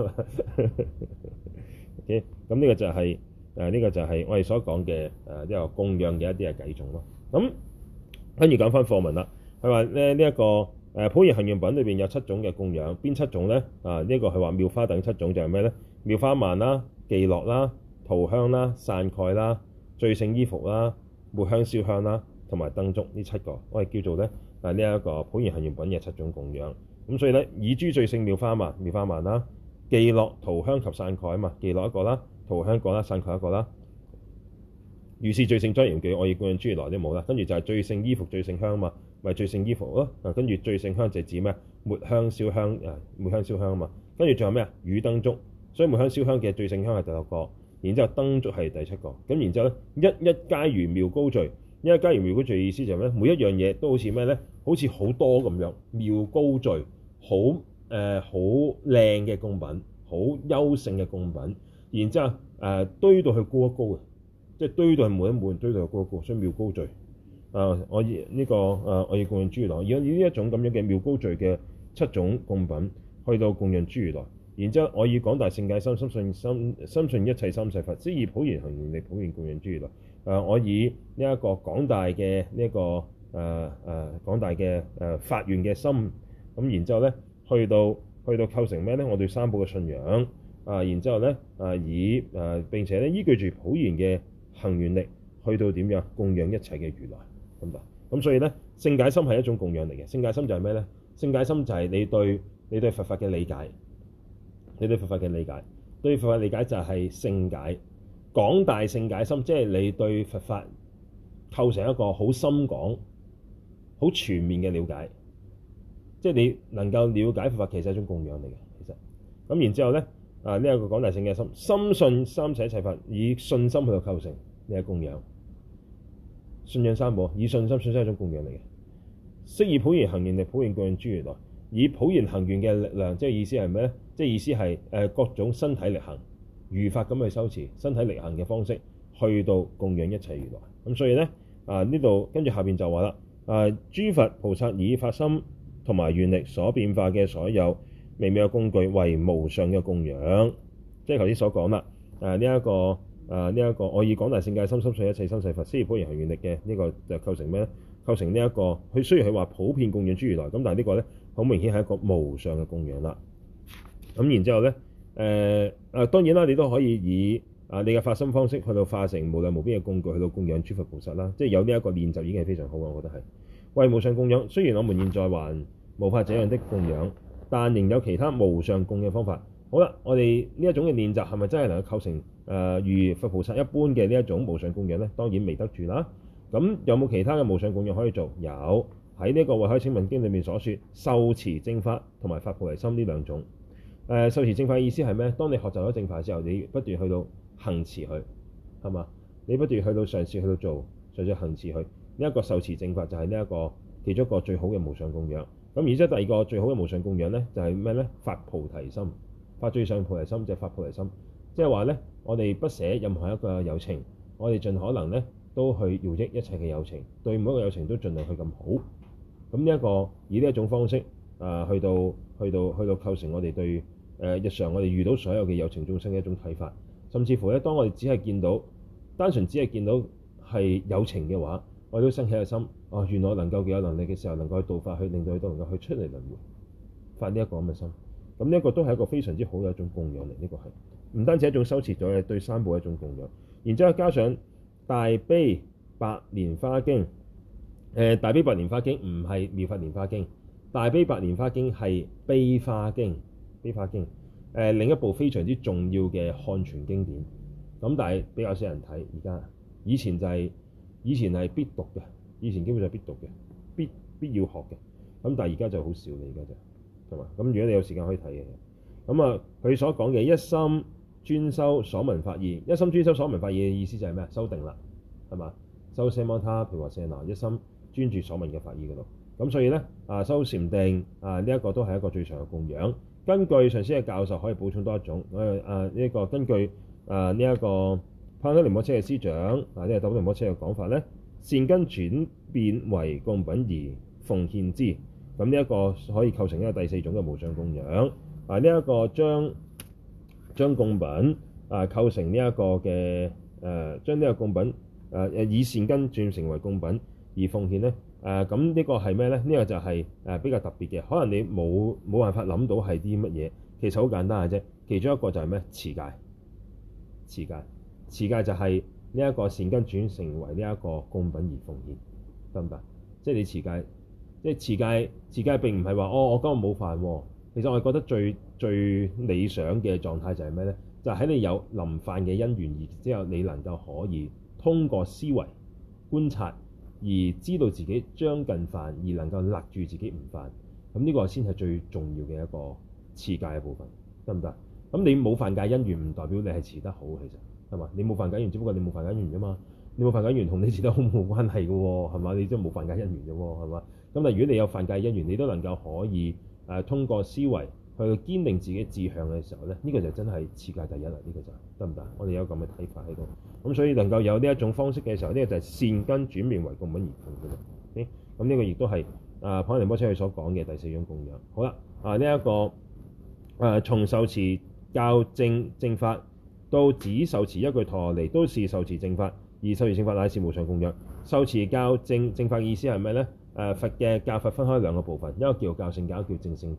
？OK，咁呢個就係誒呢個就係我哋所講嘅誒呢個供養嘅一啲嘅偈頌咯。咁跟住講翻課文啦，佢話咧呢一個誒《普賢行願品》裏邊有七種嘅供養，邊七種咧？啊呢、這個係話妙花等七種就係咩咧？妙花鬘啦、伎樂啦、塗香啦、散蓋啦、最勝衣服啦、抹香燒香啦，同埋燈燭呢七個，我哋叫做咧啊呢一、這個普賢行願品嘅七種供養。咁所以咧，以諸最勝妙花鬘、妙花鬘啦、伎樂、塗香及散蓋啊嘛，伎樂一個啦，塗香一個啦，散蓋一個啦。如是最勝莊嚴具，我以供養諸如來啲冇啦。跟住就係最勝衣服、最勝香啊嘛，咪最勝衣服咯。啊，跟住最勝香就指咩？抹香燒香啊，抹香燒香啊嘛。跟住仲有咩啊？與燈燭，所以抹香燒香嘅最勝香係第六個，然之後燈燭係第七個。咁然之後咧，一一皆如妙高聚，一一皆如妙高聚嘅意思就係咩？每一樣嘢都好似咩咧？好似好多咁樣妙高聚，好誒好靚嘅供品，好優勝嘅供品。然之後誒、呃、堆到去高一高嘅。即係堆到係滿一滿，堆到係高一高，所以妙高聚。啊，我以呢、這個啊，我以供養諸如來，而家以呢一種咁樣嘅妙高聚嘅七種供品，去到供養諸如來。然之後，我以廣大聖解心，深信深深信一切三世佛，即以普賢行願力普願供養諸如來。啊，我以呢一個廣大嘅呢一個誒誒、啊啊、廣大嘅誒、啊、發願嘅心，咁然之後咧，去到去到構成咩咧？我對三寶嘅信仰啊，然之後咧啊，以誒、啊、並且咧依據住普賢嘅行願力，去到點樣供養一切嘅如來，得唔得？咁所以咧，勝解心係一種供養嚟嘅。勝解心就係咩咧？勝解心就係你對你對佛法嘅理解，你對佛法嘅理解，對佛法理解就係勝解。廣大勝解心，即係你對佛法構成一個好深廣、好全面嘅了解。即係你能夠了解佛法，其實係一種供養嚟嘅。其實咁然之後咧，啊呢一個廣大勝解心，深信三世一切法，以信心去到構成呢個供養。信仰三寶，以信心，信心係一種供養嚟嘅。悉以普賢行願力，普賢供養諸如來。以普賢行願嘅力量，即係意思係咩咧？即係意思係誒各種身體力行，如法咁去修持，身體力行嘅方式去到供養一切如來。咁所以咧啊呢度跟住下邊就話啦，啊諸佛菩薩以發心同埋願力所變化嘅所有微妙嘅工具為無上嘅供養，即係頭先所講啦。誒呢一個誒呢一個我以廣大勝解心深信一切生世佛，悉以普賢行願力嘅呢個就構成咩咧？構成呢、這、一個佢雖然佢話普遍供養諸如來，咁但係呢個咧好明顯係一個無上嘅供養啦。咁然之後咧誒誒當然啦，你都可以以啊你嘅發心方式去到化成無量無邊嘅工具，去到供養諸佛菩薩啦。即係有呢一個練習已經係非常好嘅，我覺得係為無上供養。雖然我們現在還無法這樣的供養，但仍有其他無上供養方法。好啦，我哋呢一種嘅練習係咪真係能夠構成誒、呃、如佛菩薩一般嘅呢一種無上供養咧？當然未得住啦。咁有冇其他嘅無上供養可以做？有，喺呢個慧海請問經裏面所說，受持正法同埋發菩提心呢兩種。誒、呃，受持正法嘅意思係咩？當你學習咗正法之後，你不斷去到行持佢，係嘛？你不斷去到嘗試去到做，嘗試行持佢。呢、這、一個受持正法就係呢一個其中一個最好嘅無上供養。咁而且第二個最好嘅無上供養咧，就係咩咧？發菩提心，發最上菩提心就係發菩提心。即係話咧，我哋不捨任何一個有情，我哋盡可能咧都去饒益一切嘅有情，對每一個有情都盡量去咁好。咁呢一個以呢一種方式啊、呃，去到去到去到構成我哋對誒、呃、日常我哋遇到所有嘅有情眾生嘅一種睇法，甚至乎咧，當我哋只係見到單純只係見到係有情嘅話，我哋都生起個心，哦，原來能夠嘅有能力嘅時候，能夠去度化，去令到佢都能夠去出嚟輪迴，發呢一個咁嘅心。咁呢一個都係一個非常之好嘅一種供養嚟，呢、這個係唔單止一種修持咗嘅對三寶一種供養，然之後加上大悲白蓮花經。誒、呃，大悲白蓮花經唔係妙法蓮花經，大悲白蓮花經係悲花經，悲花經誒、呃、另一部非常之重要嘅漢傳經典。咁但係比較少人睇，而家以前就係、是、以前係必讀嘅，以前基本上係必讀嘅，必必要學嘅。咁但係而家就好少啦，而家就係嘛。咁如果你有時間可以睇嘅，咁啊佢所講嘅一心專修所聞法義，一心專修所聞法義嘅意思就係咩啊？修定啦，係嘛？修奢摩他毘缽舍那，一心專注所聞嘅法義嗰度。咁所以咧啊，修禪定啊，呢、這、一個都係一個最長嘅供養。根據上師嘅教授，可以補充多一種。誒啊呢一個根據啊呢一個帕繃喀仁波切嘅師長啊，呢、這個帕繃喀仁波切嘅講法咧，善根轉變為供品而奉獻之。咁呢一個可以構成一個第四種嘅無上供養。啊呢一、這個將將供品啊構成呢一個嘅誒，將呢個供品誒誒以善根轉成為供品而奉獻咧。誒咁呢個係咩咧？呢、這個就係誒比較特別嘅，可能你冇冇辦法諗到係啲乜嘢。其實好簡單嘅啫，其中一個就係咩？持戒，持戒，持戒就係呢一個善根轉成為呢一個供品而奉獻，得唔得？即係你持戒，即係持戒，持戒並唔係話哦，我今日冇犯喎。其實我係覺得最最理想嘅狀態就係咩咧？就係、是、喺你有臨犯嘅因緣，而之後你能夠可以通過思維觀察，而知道自己將近犯，而能夠勒住自己唔犯，咁呢個先係最重要嘅一個持戒嘅部分，得唔得？咁你冇犯戒因緣唔代表你係持得好，其實係嘛？你冇犯戒因緣，只不過你冇犯戒因緣啫嘛。你冇犯戒因緣同你持得好冇關係嘅喎，係嘛？你即係冇犯戒因緣啫喎，係嘛？咁但係如果你有犯戒因緣，你都能夠可以誒、呃、通過思維去堅定自己志向嘅時候咧，呢、這個就真係持戒第一啦。呢、這個就得唔得？我哋有咁嘅睇法喺度。咁所以能夠有呢一種方式嘅時候，呢、這個就係善根轉變為供品而奉嘅。咁呢個亦都係啊帕繃喀仁波切佢所講嘅第四種供養。好啦，啊呢一、這個誒、啊、從受持教證正法到只受持一句陀羅尼，都是受持正法，而受持正法乃是無上供養。受持教證正法嘅意思係咩咧？誒、啊、佛嘅教法分開兩個部分，一個叫教性教，一個叫證聖教。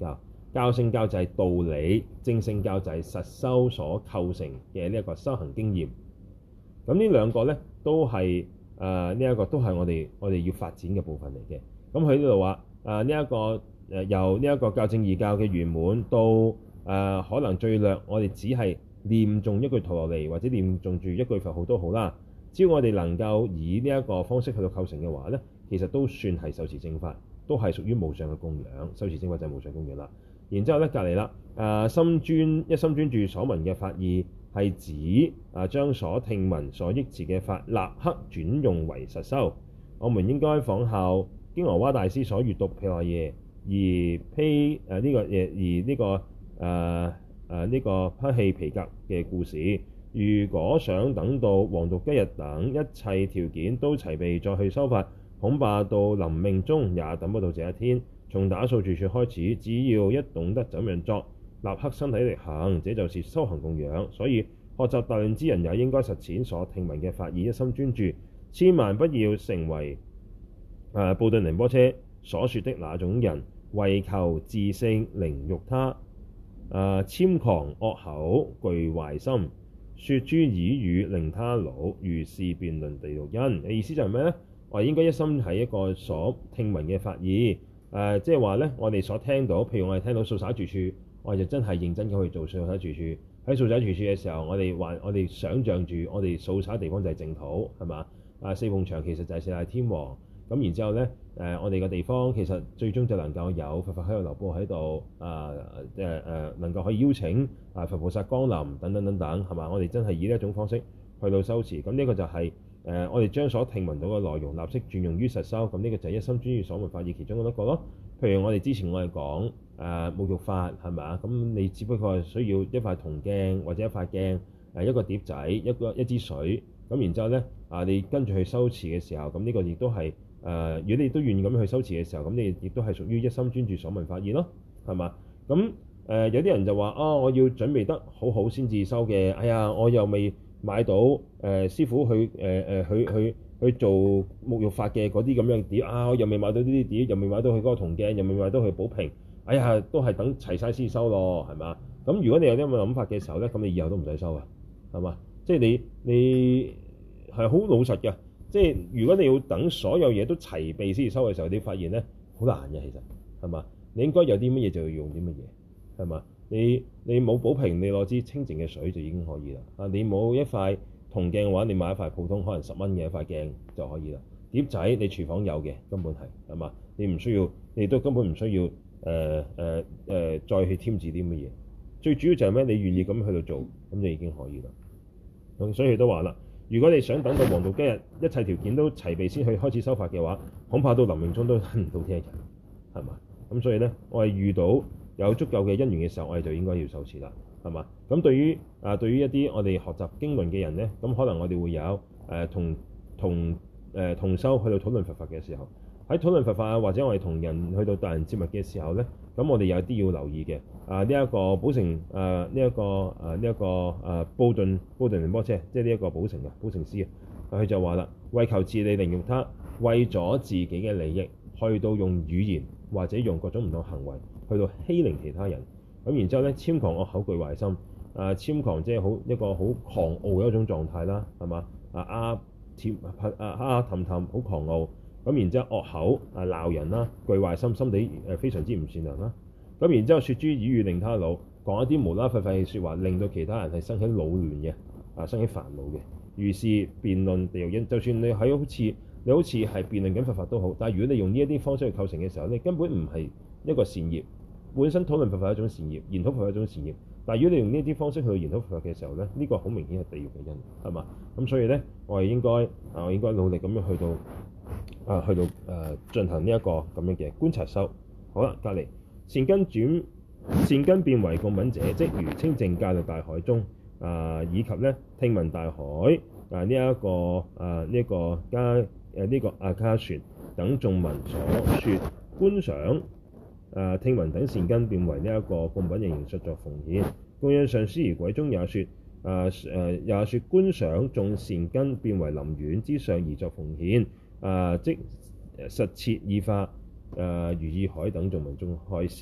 教聖教就係道理，證聖教就係實修所構成嘅呢一個修行經驗。咁呢兩個咧都係誒呢一個都係我哋我哋要發展嘅部分嚟嘅。咁喺呢度話誒呢一個誒、呃、由呢一個教證義教嘅圓滿到誒、呃、可能最略我哋只係念誦一句陀羅尼或者念誦住一句佛號都好啦。只要我哋能夠以呢一個方式去到構成嘅話咧，其實都算係受持正法，都係屬於無上嘅供養。受持正法就係無上供養啦。然之後咧隔離啦，誒、呃、心專一心專注所聞嘅法義係指啊將所聽聞所憶持嘅法立刻轉用為實修。我們應該仿效京俄瓦大師所閱讀毘奈耶而披誒呢個誒而呢、這個誒誒呢個披氣皮革嘅故事。如果想等到黃道吉日等一切條件都齊備再去修法，恐怕到臨命終也等不到這一天。從打掃住處開始，只要一懂得怎樣作，立刻身體力行，這就是修行供養。所以學習大論之人也應該實踐所聽聞嘅法義，一心專注，千萬不要成為誒布頓仁波切所說的那種人，為求自勝凌辱他，誒諂誑惡口具壞心，說諸綺語令他惱，如是辯論地獄因。嘅意思就係咩呢？我哋應該一心喺一個所聽聞嘅法義。誒、呃，即係話咧，我哋所聽到，譬如我哋聽到掃灑住處，我哋就真係認真咁去做掃灑住處。喺掃灑住處嘅時候，我哋話我哋想像住，我哋掃灑地方就係淨土，係嘛？啊，四鳳牆其實就係四大天王。咁然之後咧，誒、呃，我哋嘅地方其實最終就能夠有佛法喺度流布喺度，啊誒誒，能夠可以邀請啊佛菩薩光臨等等等等，係嘛？我哋真係以呢一種方式去到修持。咁呢個就係、是。誒、呃，我哋將所聽聞到嘅內容立即轉用於實修，咁呢個就係一心專注所聞法義其中一個咯。譬如我哋之前我哋講誒沐浴法係咪啊？咁你只不過係需要一塊銅鏡或者一塊鏡，誒一個碟仔，一個一支水，咁然之後咧啊，你跟住去修持嘅時候，咁呢個亦都係誒、呃，如果你都願意咁去修持嘅時候，咁你亦都係屬於一心專注所聞法義咯，係嘛？咁誒、呃、有啲人就話啊、哦，我要準備得好好先至修嘅，哎呀，我又未買到誒、呃、師傅去誒誒、呃、去去去做沐浴法嘅嗰啲咁樣嘅碟啊，我又未買到呢啲碟，又未買到佢嗰個銅鏡，又未買到佢寶瓶，哎呀，都係等齊晒先收咯，係嘛？咁如果你有啲咁嘅諗法嘅時候咧，咁你以後都唔使收啊，係嘛？即係你你係好老實嘅，即係如果你要等所有嘢都齊備先至收嘅時候，你發現咧好難嘅，其實係嘛？你應該有啲乜嘢就要用啲乜嘢，係嘛？你你冇寶瓶，你攞支清淨嘅水就已經可以啦。啊，你冇一塊銅鏡嘅話，你買一塊普通可能十蚊嘅一塊鏡就可以啦。碟仔你廚房有嘅，根本係係嘛？你唔需要，你都根本唔需要誒誒誒再去添置啲乜嘢。最主要就係咩？你願意咁去到做，咁就已經可以啦。咁所以佢都話啦，如果你想等到黃道吉日一切條件都齊備先去開始修法嘅話，恐怕到臨命終都等唔到呢一日，係嘛？咁所以咧，我係遇到有足夠嘅因緣嘅時候，我哋就應該要受持啦，係嘛？咁對於啊，對於一啲我哋學習經論嘅人咧，咁可能我哋會有誒、呃、同同誒、呃、同修去到討論佛法嘅時候，喺討論佛法啊，或者我哋同人去到待人接物嘅時候咧，咁我哋有啲要留意嘅啊，呢、這、一個寶成啊，呢、這、一個啊，呢、這、一個啊，布頓布頓仁波切，即係呢一個寶成啊，寶成師啊，佢就話啦，為求自利凌辱他，為咗自己嘅利益，去到用語言或者用各種唔同行為去到欺凌其他人，咁然之後咧，諂誑惡口具壞心，啊諂誑即係好一個好狂傲嘅一種狀態啦，係嘛？啊啊諂啊啊氹氹好狂傲，咁然之後惡口啊鬧人啦，具壞心，心地誒非常之唔善良啦，咁然之後説諸綺語令他惱，講一啲無啦廢廢嘅説話，令到其他人係生起惱亂嘅，啊生起煩惱嘅，如是辯論地獄因。就算你喺好似你好似係辯論緊佛法都好，但係如果你用呢一啲方式去構成嘅時候，你根本唔係一個善業。本身討論佛法係一種善業，研討佛法係一種善業。但係如果你用呢啲方式去研討佛法嘅時候咧，呢、這個好明顯係地獄嘅因，係嘛？咁所以咧，我係應該啊，我應該努力咁樣去到啊，去到誒、呃、進行呢一個咁樣嘅觀察修。好啦，隔離善根轉善根變為供品者，即如清淨戒律大海中啊、呃，以及咧聽聞大海啊呢一個啊呢一個加誒呢個阿卡船等眾文所說觀想。誒、啊、聽聞等善根變為呢一個供品形形實作奉獻，供養上師儀軌中也說，誒、啊、誒、啊、也説觀想眾善根變為林苑之上而作奉獻，誒、啊、即實設意化誒如意海等眾文中開示。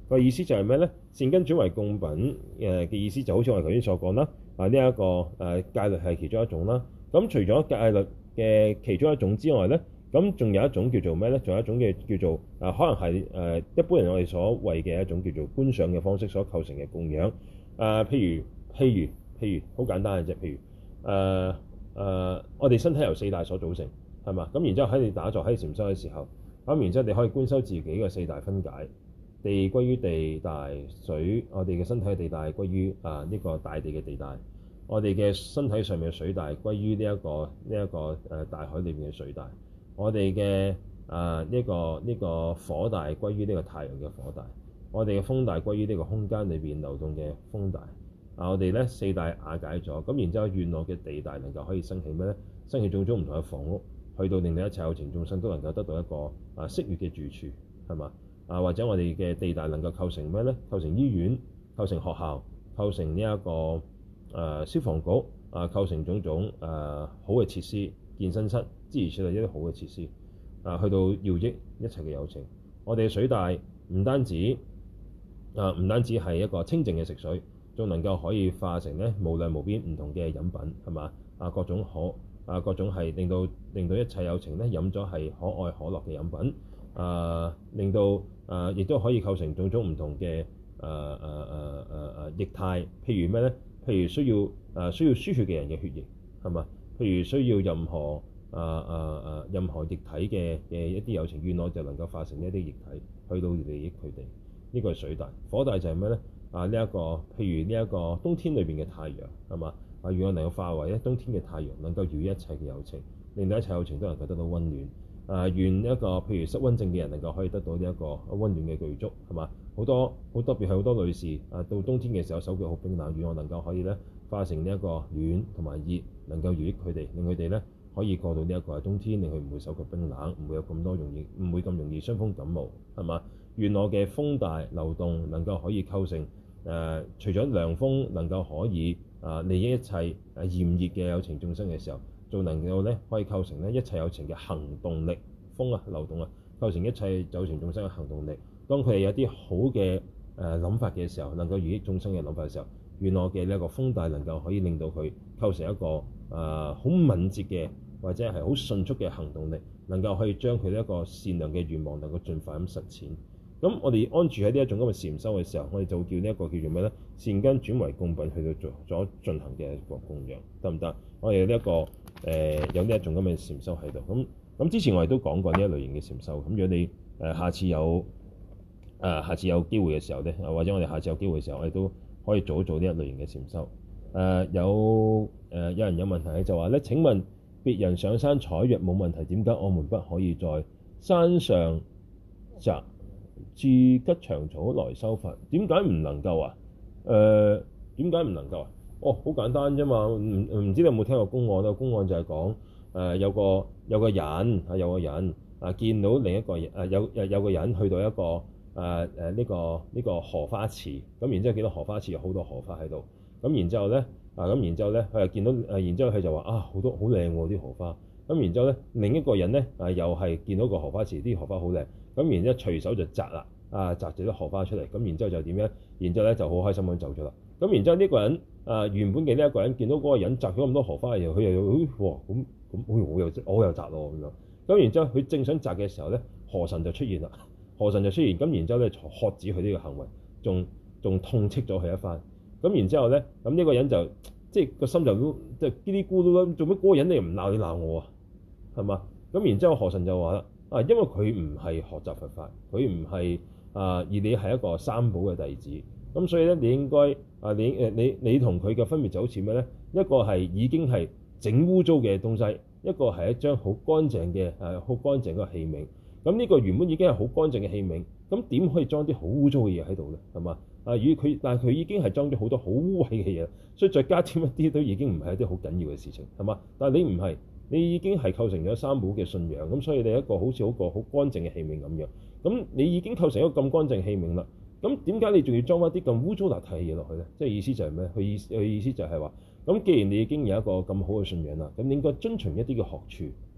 個意思就係咩咧？善根轉為供品誒嘅意思就好似我哋頭先所講啦。啊，呢、這、一個誒、呃、戒律係其中一種啦。咁除咗戒律嘅其中一種之外咧，咁仲有一種叫做咩咧？仲有一種嘅叫做啊，可能係誒、呃、一般人我哋所謂嘅一種叫做觀想嘅方式所構成嘅供養。啊、呃，譬如譬如譬如好簡單嘅啫，譬如誒誒、呃呃，我哋身體由四大所組成，係嘛？咁然之後喺你打坐喺禪修嘅時候，咁然之後你可以觀修自己嘅四大分解。地歸於地大，水我哋嘅身體嘅地大歸於啊呢、這個大地嘅地大，我哋嘅身體上面嘅水大歸於呢一個呢一、這個誒、呃、大海裏面嘅水大，我哋嘅啊呢個呢、這個火大歸於呢個太陽嘅火大，我哋嘅風大歸於呢個空間裏邊流動嘅風大。啊，我哋咧四大瓦解咗，咁然之後願我嘅地大能夠可以生起咩咧？生起種種唔同嘅房屋，去到令到一切有情眾生都能夠得到一個啊適悅嘅住處，係嘛？啊，或者我哋嘅地大能夠構成咩咧？構成醫院、構成學校、構成呢、這、一個誒、呃、消防局啊，構成種種誒、呃、好嘅設施、健身室諸如此類一啲好嘅設施啊，去到耀益一切嘅有情。我哋嘅水大唔單止啊，唔單止係一個清淨嘅食水，仲能夠可以化成咧無量無邊唔同嘅飲品，係嘛？啊，各種可啊，各種係令到令到一切有情咧飲咗係可愛可樂嘅飲品啊，令到啊，亦都可以構成種種唔同嘅誒誒誒誒誒液態，譬如咩咧？譬如需要誒、呃、需要輸血嘅人嘅血液，係嘛？譬如需要任何誒誒誒任何液體嘅嘅一啲有情願我就能夠化成一啲液體去到利益佢哋。呢、這個係水大，火大就係咩咧？啊呢一、這個譬如呢一個冬天裏邊嘅太陽，係嘛？啊願我能夠化為咧冬天嘅太陽，能夠療癒一切嘅有情，令到一切有情都能夠得到溫暖。啊，願一個譬如失溫症嘅人能夠可以得到呢一個溫暖嘅具足，係嘛？好多好特別係好多女士啊，到冬天嘅時候手腳好冰冷，願我能夠可以咧化成呢一個暖同埋熱，能夠療愈佢哋，令佢哋咧可以過到呢一個冬天，令佢唔會手腳冰冷，唔會有咁多容易唔會咁容易傷風感冒，係嘛？願我嘅風大流動能夠可以構成誒、呃，除咗涼風能夠可以啊利益一切誒炎熱嘅有情眾生嘅時候，仲能夠咧可以構成咧一切有情嘅行動力，風啊流動啊，構成一切有情眾生嘅行動力。當佢哋有啲好嘅誒諗法嘅時候，能夠利益眾生嘅諗法嘅時候，願我嘅呢一個風大能夠可以令到佢構成一個誒好、呃、敏捷嘅或者係好迅速嘅行動力，能夠可以將佢呢一個善良嘅願望能夠盡快咁實踐。咁我哋安住喺呢一種咁嘅禪修嘅時候，我哋就叫呢一個叫做咩咧？善根轉為供品去到做咗進行嘅一個供養，得唔得？我哋呢一個誒、呃、有呢一種咁嘅禪修喺度。咁咁之前我哋都講過呢一類型嘅禪修。咁如果你誒、呃、下次有誒、呃、下次有機會嘅時候咧，或者我哋下次有機會嘅時候，我哋都可以做一做呢一類型嘅禪修。誒、呃、有誒、呃、有人有問題就話咧：請問別人上山採藥冇問題，點解我們不可以在山上摘至吉祥草來修法？點解唔能夠啊？誒點解唔能夠啊？哦，好簡單啫嘛。唔唔知你有冇聽過公案咧？公案就係講誒有個有個人啊，有個人啊見到另一個人啊，有有有個人去到一個誒誒呢個呢、呢個荷花池，咁然之後見到荷花池有好多荷花喺度，咁然之後咧啊咁然之後咧佢又見到誒，然之後佢就話啊好多好靚喎啲荷花，咁然之後咧另一個人咧啊又係見到個荷花池啲荷花好靚。咁然之後隨手就摘啦，啊摘咗啲荷花出嚟，咁然之後就點樣？然之後咧就好開心咁走咗啦。咁然之後呢個人啊原本嘅呢一個人見到嗰個人摘咗咁多荷花嘅時候，佢又哇咁咁，好似我又我又摘咯咁樣。咁然之後佢正想摘嘅時候咧，河神就出現啦。河神就出現，咁然之後咧喝止佢呢個行為，仲仲痛斥咗佢一番。咁然之後咧，咁呢個人就即係個心就即係嘰哩咕嚕啦，做乜嗰個人你又唔鬧你鬧我啊？係嘛？咁然之後河神就話啦。啊，因為佢唔係學習佛法，佢唔係啊，而你係一個三寶嘅弟子，咁所以咧，你應該啊，你誒你你同佢嘅分別就好似咩咧？一個係已經係整污糟嘅東西，一個係一張好乾淨嘅誒好乾淨嘅器皿。咁呢個原本已經係好乾淨嘅器皿，咁點可以裝啲好污糟嘅嘢喺度咧？係嘛？啊，與佢但係佢已經係裝咗好多好污穢嘅嘢，所以再加添一啲都已經唔係一啲好緊要嘅事情，係嘛？但係你唔係。你已經係構成咗三寶嘅信仰，咁所以你一個好似好個好乾淨嘅器皿咁樣，咁你已經構成一個咁乾淨器皿啦。咁點解你仲要裝一啲咁污糟邋遢嘅嘢落去咧？即係意思就係咩？佢意佢意思就係話，咁既然你已經有一個咁好嘅信仰啦，咁你應該遵循一啲嘅學處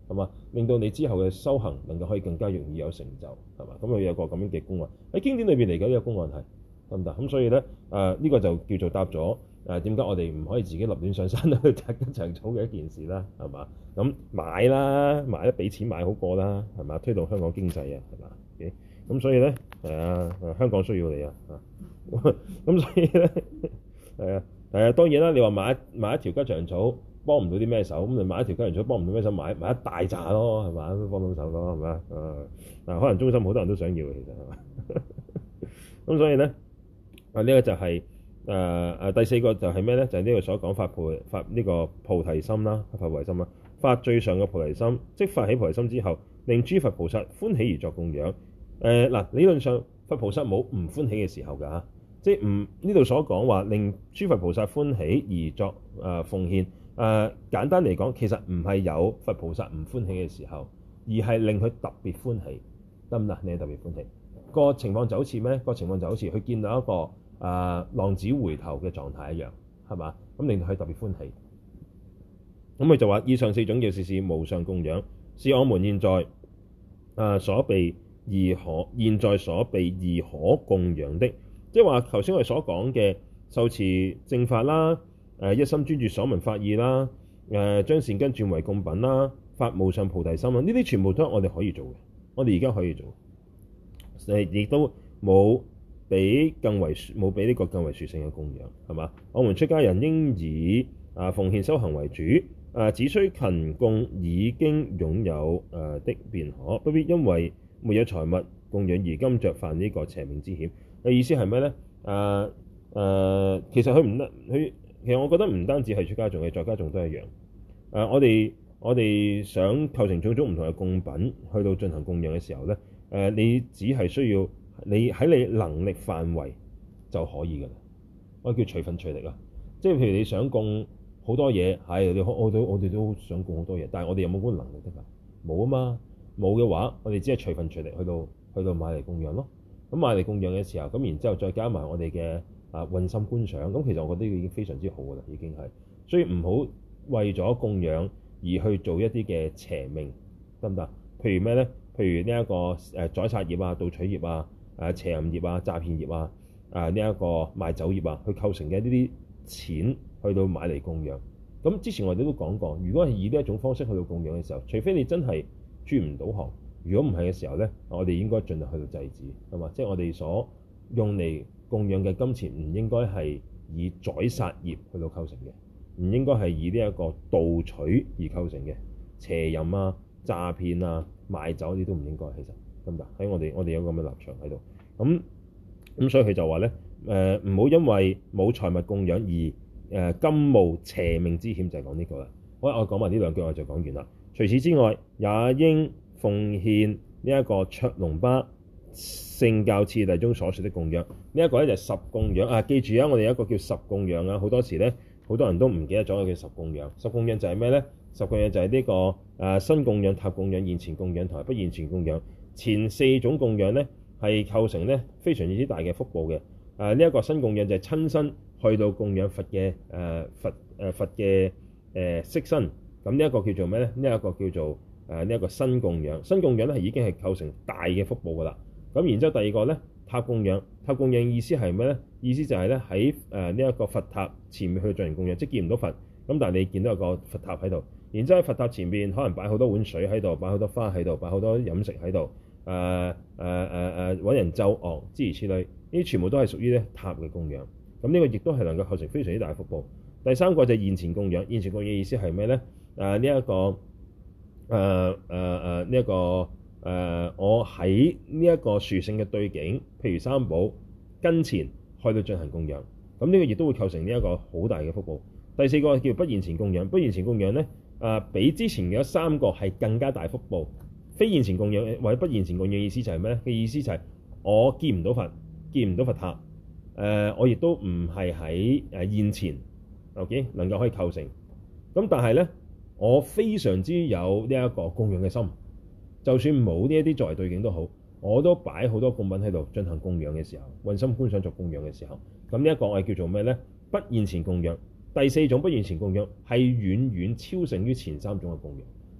係嘛？令到你之後嘅修行能夠可以更加容易有成就，係嘛？咁佢有個咁樣嘅公案喺經典裏邊嚟嘅呢個公案係得唔得？咁所以咧誒呢、呃這個就叫做答咗誒點解我哋唔可以自己立亂上山去摘吉祥草嘅一件事啦，係嘛？咁買啦，買咧俾錢買好過啦，係嘛？推動香港經濟啊，係嘛？咁、okay? 所以咧係啊，香港需要你啊，咁所以咧係啊係啊，當然啦，你話買一買一條吉祥草幫唔到啲咩手，咁你買一條吉祥草幫唔到咩手，買買一大扎咯，係嘛？都幫到手咯，係嘛？啊嗱，可能中心好多人都想要嘅，其實係嘛？咁所以咧啊，呢、這個就係誒誒第四個就係咩咧？就係、是、呢個所講發菩發呢個菩提心啦，發菩提心啦，發最上嘅菩提心，即發起菩提心之後，令諸佛菩薩歡喜而作供養。誒、呃、嗱，理論上佛菩薩冇唔歡喜嘅時候㗎嚇，即係唔呢度所講話令諸佛菩薩歡喜而作誒、呃、奉獻。誒、呃、簡單嚟講，其實唔係有佛菩薩唔歡喜嘅時候，而係令佢特別歡喜，得唔得？你係特別歡喜個情況就好似咩？個情況就好似佢見到一個誒、呃、浪子回頭嘅狀態一樣，係嘛？咁令到佢特別歡喜。咁佢就話：以上四種叫事事無上供養，是我們現在誒、呃、所備而可現在所備而可供養的。即係話頭先我哋所講嘅受持正法啦，誒、呃、一心專注所聞法義啦，誒、呃、將善根轉為供品啦，發無上菩提心啦，呢啲全部都係我哋可以做嘅，我哋而家可以做。誒亦都冇比更為冇比呢個更為殊勝嘅供養，係嘛？我們出家人應以啊奉獻修行為主，啊只需勤供已經擁有誒的便可，不必因為沒有財物供養而甘着犯呢個邪命之險。嘅意思係咩咧？誒、呃、誒、呃，其實佢唔得，佢其實我覺得唔單止係出家眾嘅，在家眾都一樣。誒、呃，我哋我哋想構成種種唔同嘅供品去到進行供養嘅時候咧。誒、呃，你只係需要你喺你能力範圍就可以㗎啦。我叫隨分隨力啊，即係譬如你想供好多嘢，係你我哋我哋都想供好多嘢，但係我哋有冇嗰個能力得㗎？冇啊嘛，冇嘅話，我哋只係隨分隨力去到去到買嚟供養咯。咁買嚟供養嘅時候，咁然之後再加埋我哋嘅啊運心觀想，咁其實我覺得已經非常之好㗎啦，已經係。所以唔好為咗供養而去做一啲嘅邪命，得唔得？譬如咩咧？譬如呢、這、一個誒宰殺業啊、盜取業啊、誒邪淫業啊、詐騙業啊、啊呢一個賣酒業啊，去構成嘅呢啲錢去到買嚟供養。咁之前我哋都講過，如果係以呢一種方式去到供養嘅時候，除非你真係轉唔到行，如果唔係嘅時候咧，我哋應該盡量去到制止，係嘛？即係我哋所用嚟供養嘅金錢唔應該係以宰殺業去到構成嘅，唔應該係以呢一個盜取而構成嘅邪淫啊、詐騙啊、賣酒啲都唔應該，其實得唔得？喺我哋我哋有咁嘅立場喺度，咁咁所以佢就話咧，誒唔好因為冇財物供養而誒、呃、甘冒邪命之險，就係講呢個啦。好，我講埋呢兩句我就講完啦。除此之外，也應奉獻呢一個卓龍巴聖教次第中所說的供養。呢、這、一個咧就係十供養啊！記住啊，我哋有一個叫十供養啊，好多時咧好多人都唔記得咗佢叫十供養。十供養就係咩咧？十供養就係呢、這個誒、啊、身供養、塔供養、現前供養同埋不現前供養。前四種供養咧係構成咧非常之大嘅福報嘅。誒呢一個身供養就係親身去到供養佛嘅誒、呃、佛誒、呃、佛嘅誒色身。咁呢一個叫做咩咧？呢、這、一個叫做誒呢一個身供養。身供養咧係已經係構成大嘅福報㗎啦。咁然之後第二個咧塔供養。塔供養意思係咩咧？意思就係咧喺誒呢一個佛塔前面去進行供養，即係見唔到佛，咁但係你見到有個佛塔喺度。然之後喺佛塔前邊可能擺好多碗水喺度，擺好多花喺度，擺好多飲食喺度，誒誒誒誒揾人奏樂諸如此類，呢啲全部都係屬於咧塔嘅供養。咁呢個亦都係能夠構成非常之大嘅福報。第三個就係現前供養。現前供養意思係咩咧？誒呢一個誒誒誒呢一個誒、呃、我喺呢一個殊勝嘅對境，譬如三寶跟前去到進行供養。咁呢個亦都會構成呢一個好大嘅福報。第四個叫不現前供養。不現前供養咧。誒、呃、比之前嘅三個係更加大福報。非現前供養或者不現前供養意思就係咩咧？嘅意思就係我見唔到佛，見唔到佛塔，誒、呃、我亦都唔係喺誒現前 ，OK 能夠可以構成。咁但係咧，我非常之有呢一個供養嘅心，就算冇呢一啲作為對境都好，我都擺好多供品喺度進行供養嘅時候，運心觀想作供養嘅時候，咁呢一個我係叫做咩咧？不現前供養。第四種不現前供養係遠遠超勝於前三種嘅供養。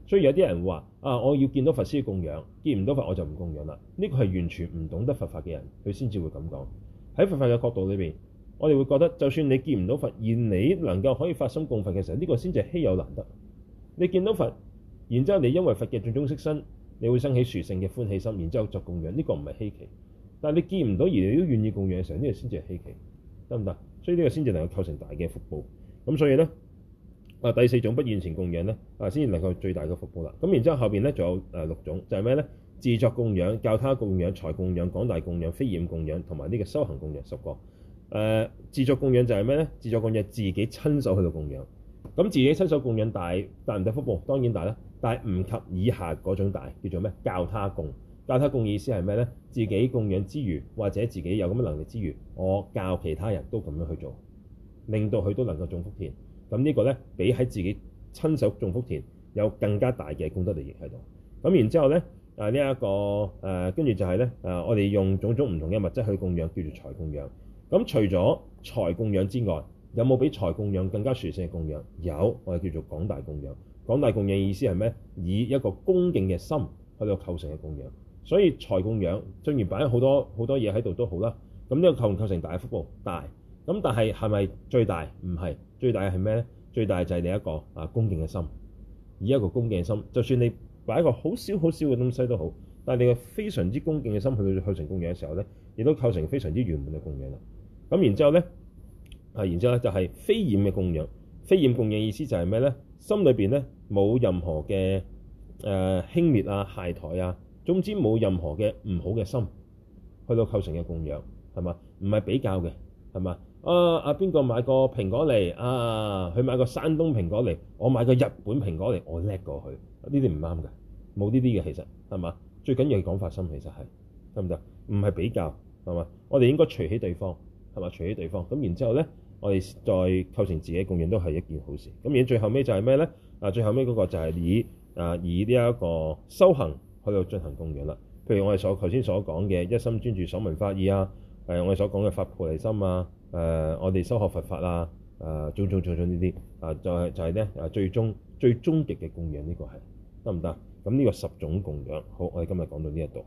所以有啲人話啊，我要見到佛先供養，見唔到佛我就唔供養啦。呢個係完全唔懂得佛法嘅人，佢先至會咁講。喺佛法嘅角度裏邊，我哋會覺得，就算你見唔到佛，而你能夠可以發心供佛嘅時候，呢個先至係稀有難得。你見到佛，然之後你因為佛嘅種種色身，你會生起殊勝嘅歡喜心，然之後作供養，呢個唔係稀奇。但係你見唔到而你都願意供養嘅時候，呢個先至係稀奇，得唔得？所以呢個先至能夠構成大嘅福報。咁所以咧，啊第四種不現前供養咧，啊先至能夠最大嘅福報啦。咁然之後後邊咧仲有誒六種，就係咩咧？自作供養、教他供養、財供養、廣大供養、非染供養同埋呢個修行供養十個。誒、呃、自作供養就係咩咧？自作供養自己親手去到供養。咁自己親手供養大大唔大福報？當然大啦，但係唔及以下嗰種大，叫做咩？教他供。教他供意思係咩咧？自己供養之餘，或者自己有咁嘅能力之餘，我教其他人都咁樣去做，令到佢都能夠種福田。咁呢個咧，比喺自己親手種福田有更加大嘅功德利益喺度。咁然之後咧，啊呢一個誒，跟住就係咧，誒我哋用種種唔同嘅物質去供養，叫做財供養。咁除咗財供養之外，有冇比財供養更加殊勝嘅供養？有，我哋叫做廣大供養。廣大供養意思係咩？以一個恭敬嘅心去到構成嘅供養。所以財供養雖然擺咗好多好多嘢喺度都好啦，咁呢個構唔構成大嘅福報？大。咁但係係咪最大？唔係，最大係咩咧？最大就係你一個啊恭敬嘅心，以一個恭敬嘅心，就算你擺一個好少好少嘅東西都好，但係你個非常之恭敬嘅心去到構成供養嘅時候咧，亦都構成非常之圓滿嘅供養啦。咁然之後咧，啊然之後咧就係非染嘅供養。非染供養意思就係咩咧？心裏邊咧冇任何嘅誒輕蔑啊、懈怠啊。總之冇任何嘅唔好嘅心去到構成嘅供養，係嘛？唔係比較嘅，係嘛？啊啊邊個買個蘋果嚟啊？佢買個山東蘋果嚟，我買個日本蘋果嚟，我叻過佢。呢啲唔啱嘅，冇呢啲嘅其實係嘛？最緊要係講發心，其實係得唔得？唔係比較係嘛？我哋應該隨喜對方係嘛？隨喜對方咁，然之後咧，我哋再構成自己供養都係一件好事。咁而最後尾就係咩咧？啊，最後尾嗰個就係以啊以呢一個修行去到進行供養啦，譬如我哋所頭先所講嘅一心專注所聞法義啊，誒我哋所講嘅發菩提心啊，誒、呃、我哋修學佛法啊，誒種種種種呢啲啊，就係、是、就係咧啊最終最終極嘅供養，呢個係得唔得？咁呢個十種供養，好，我哋今日講到呢一度。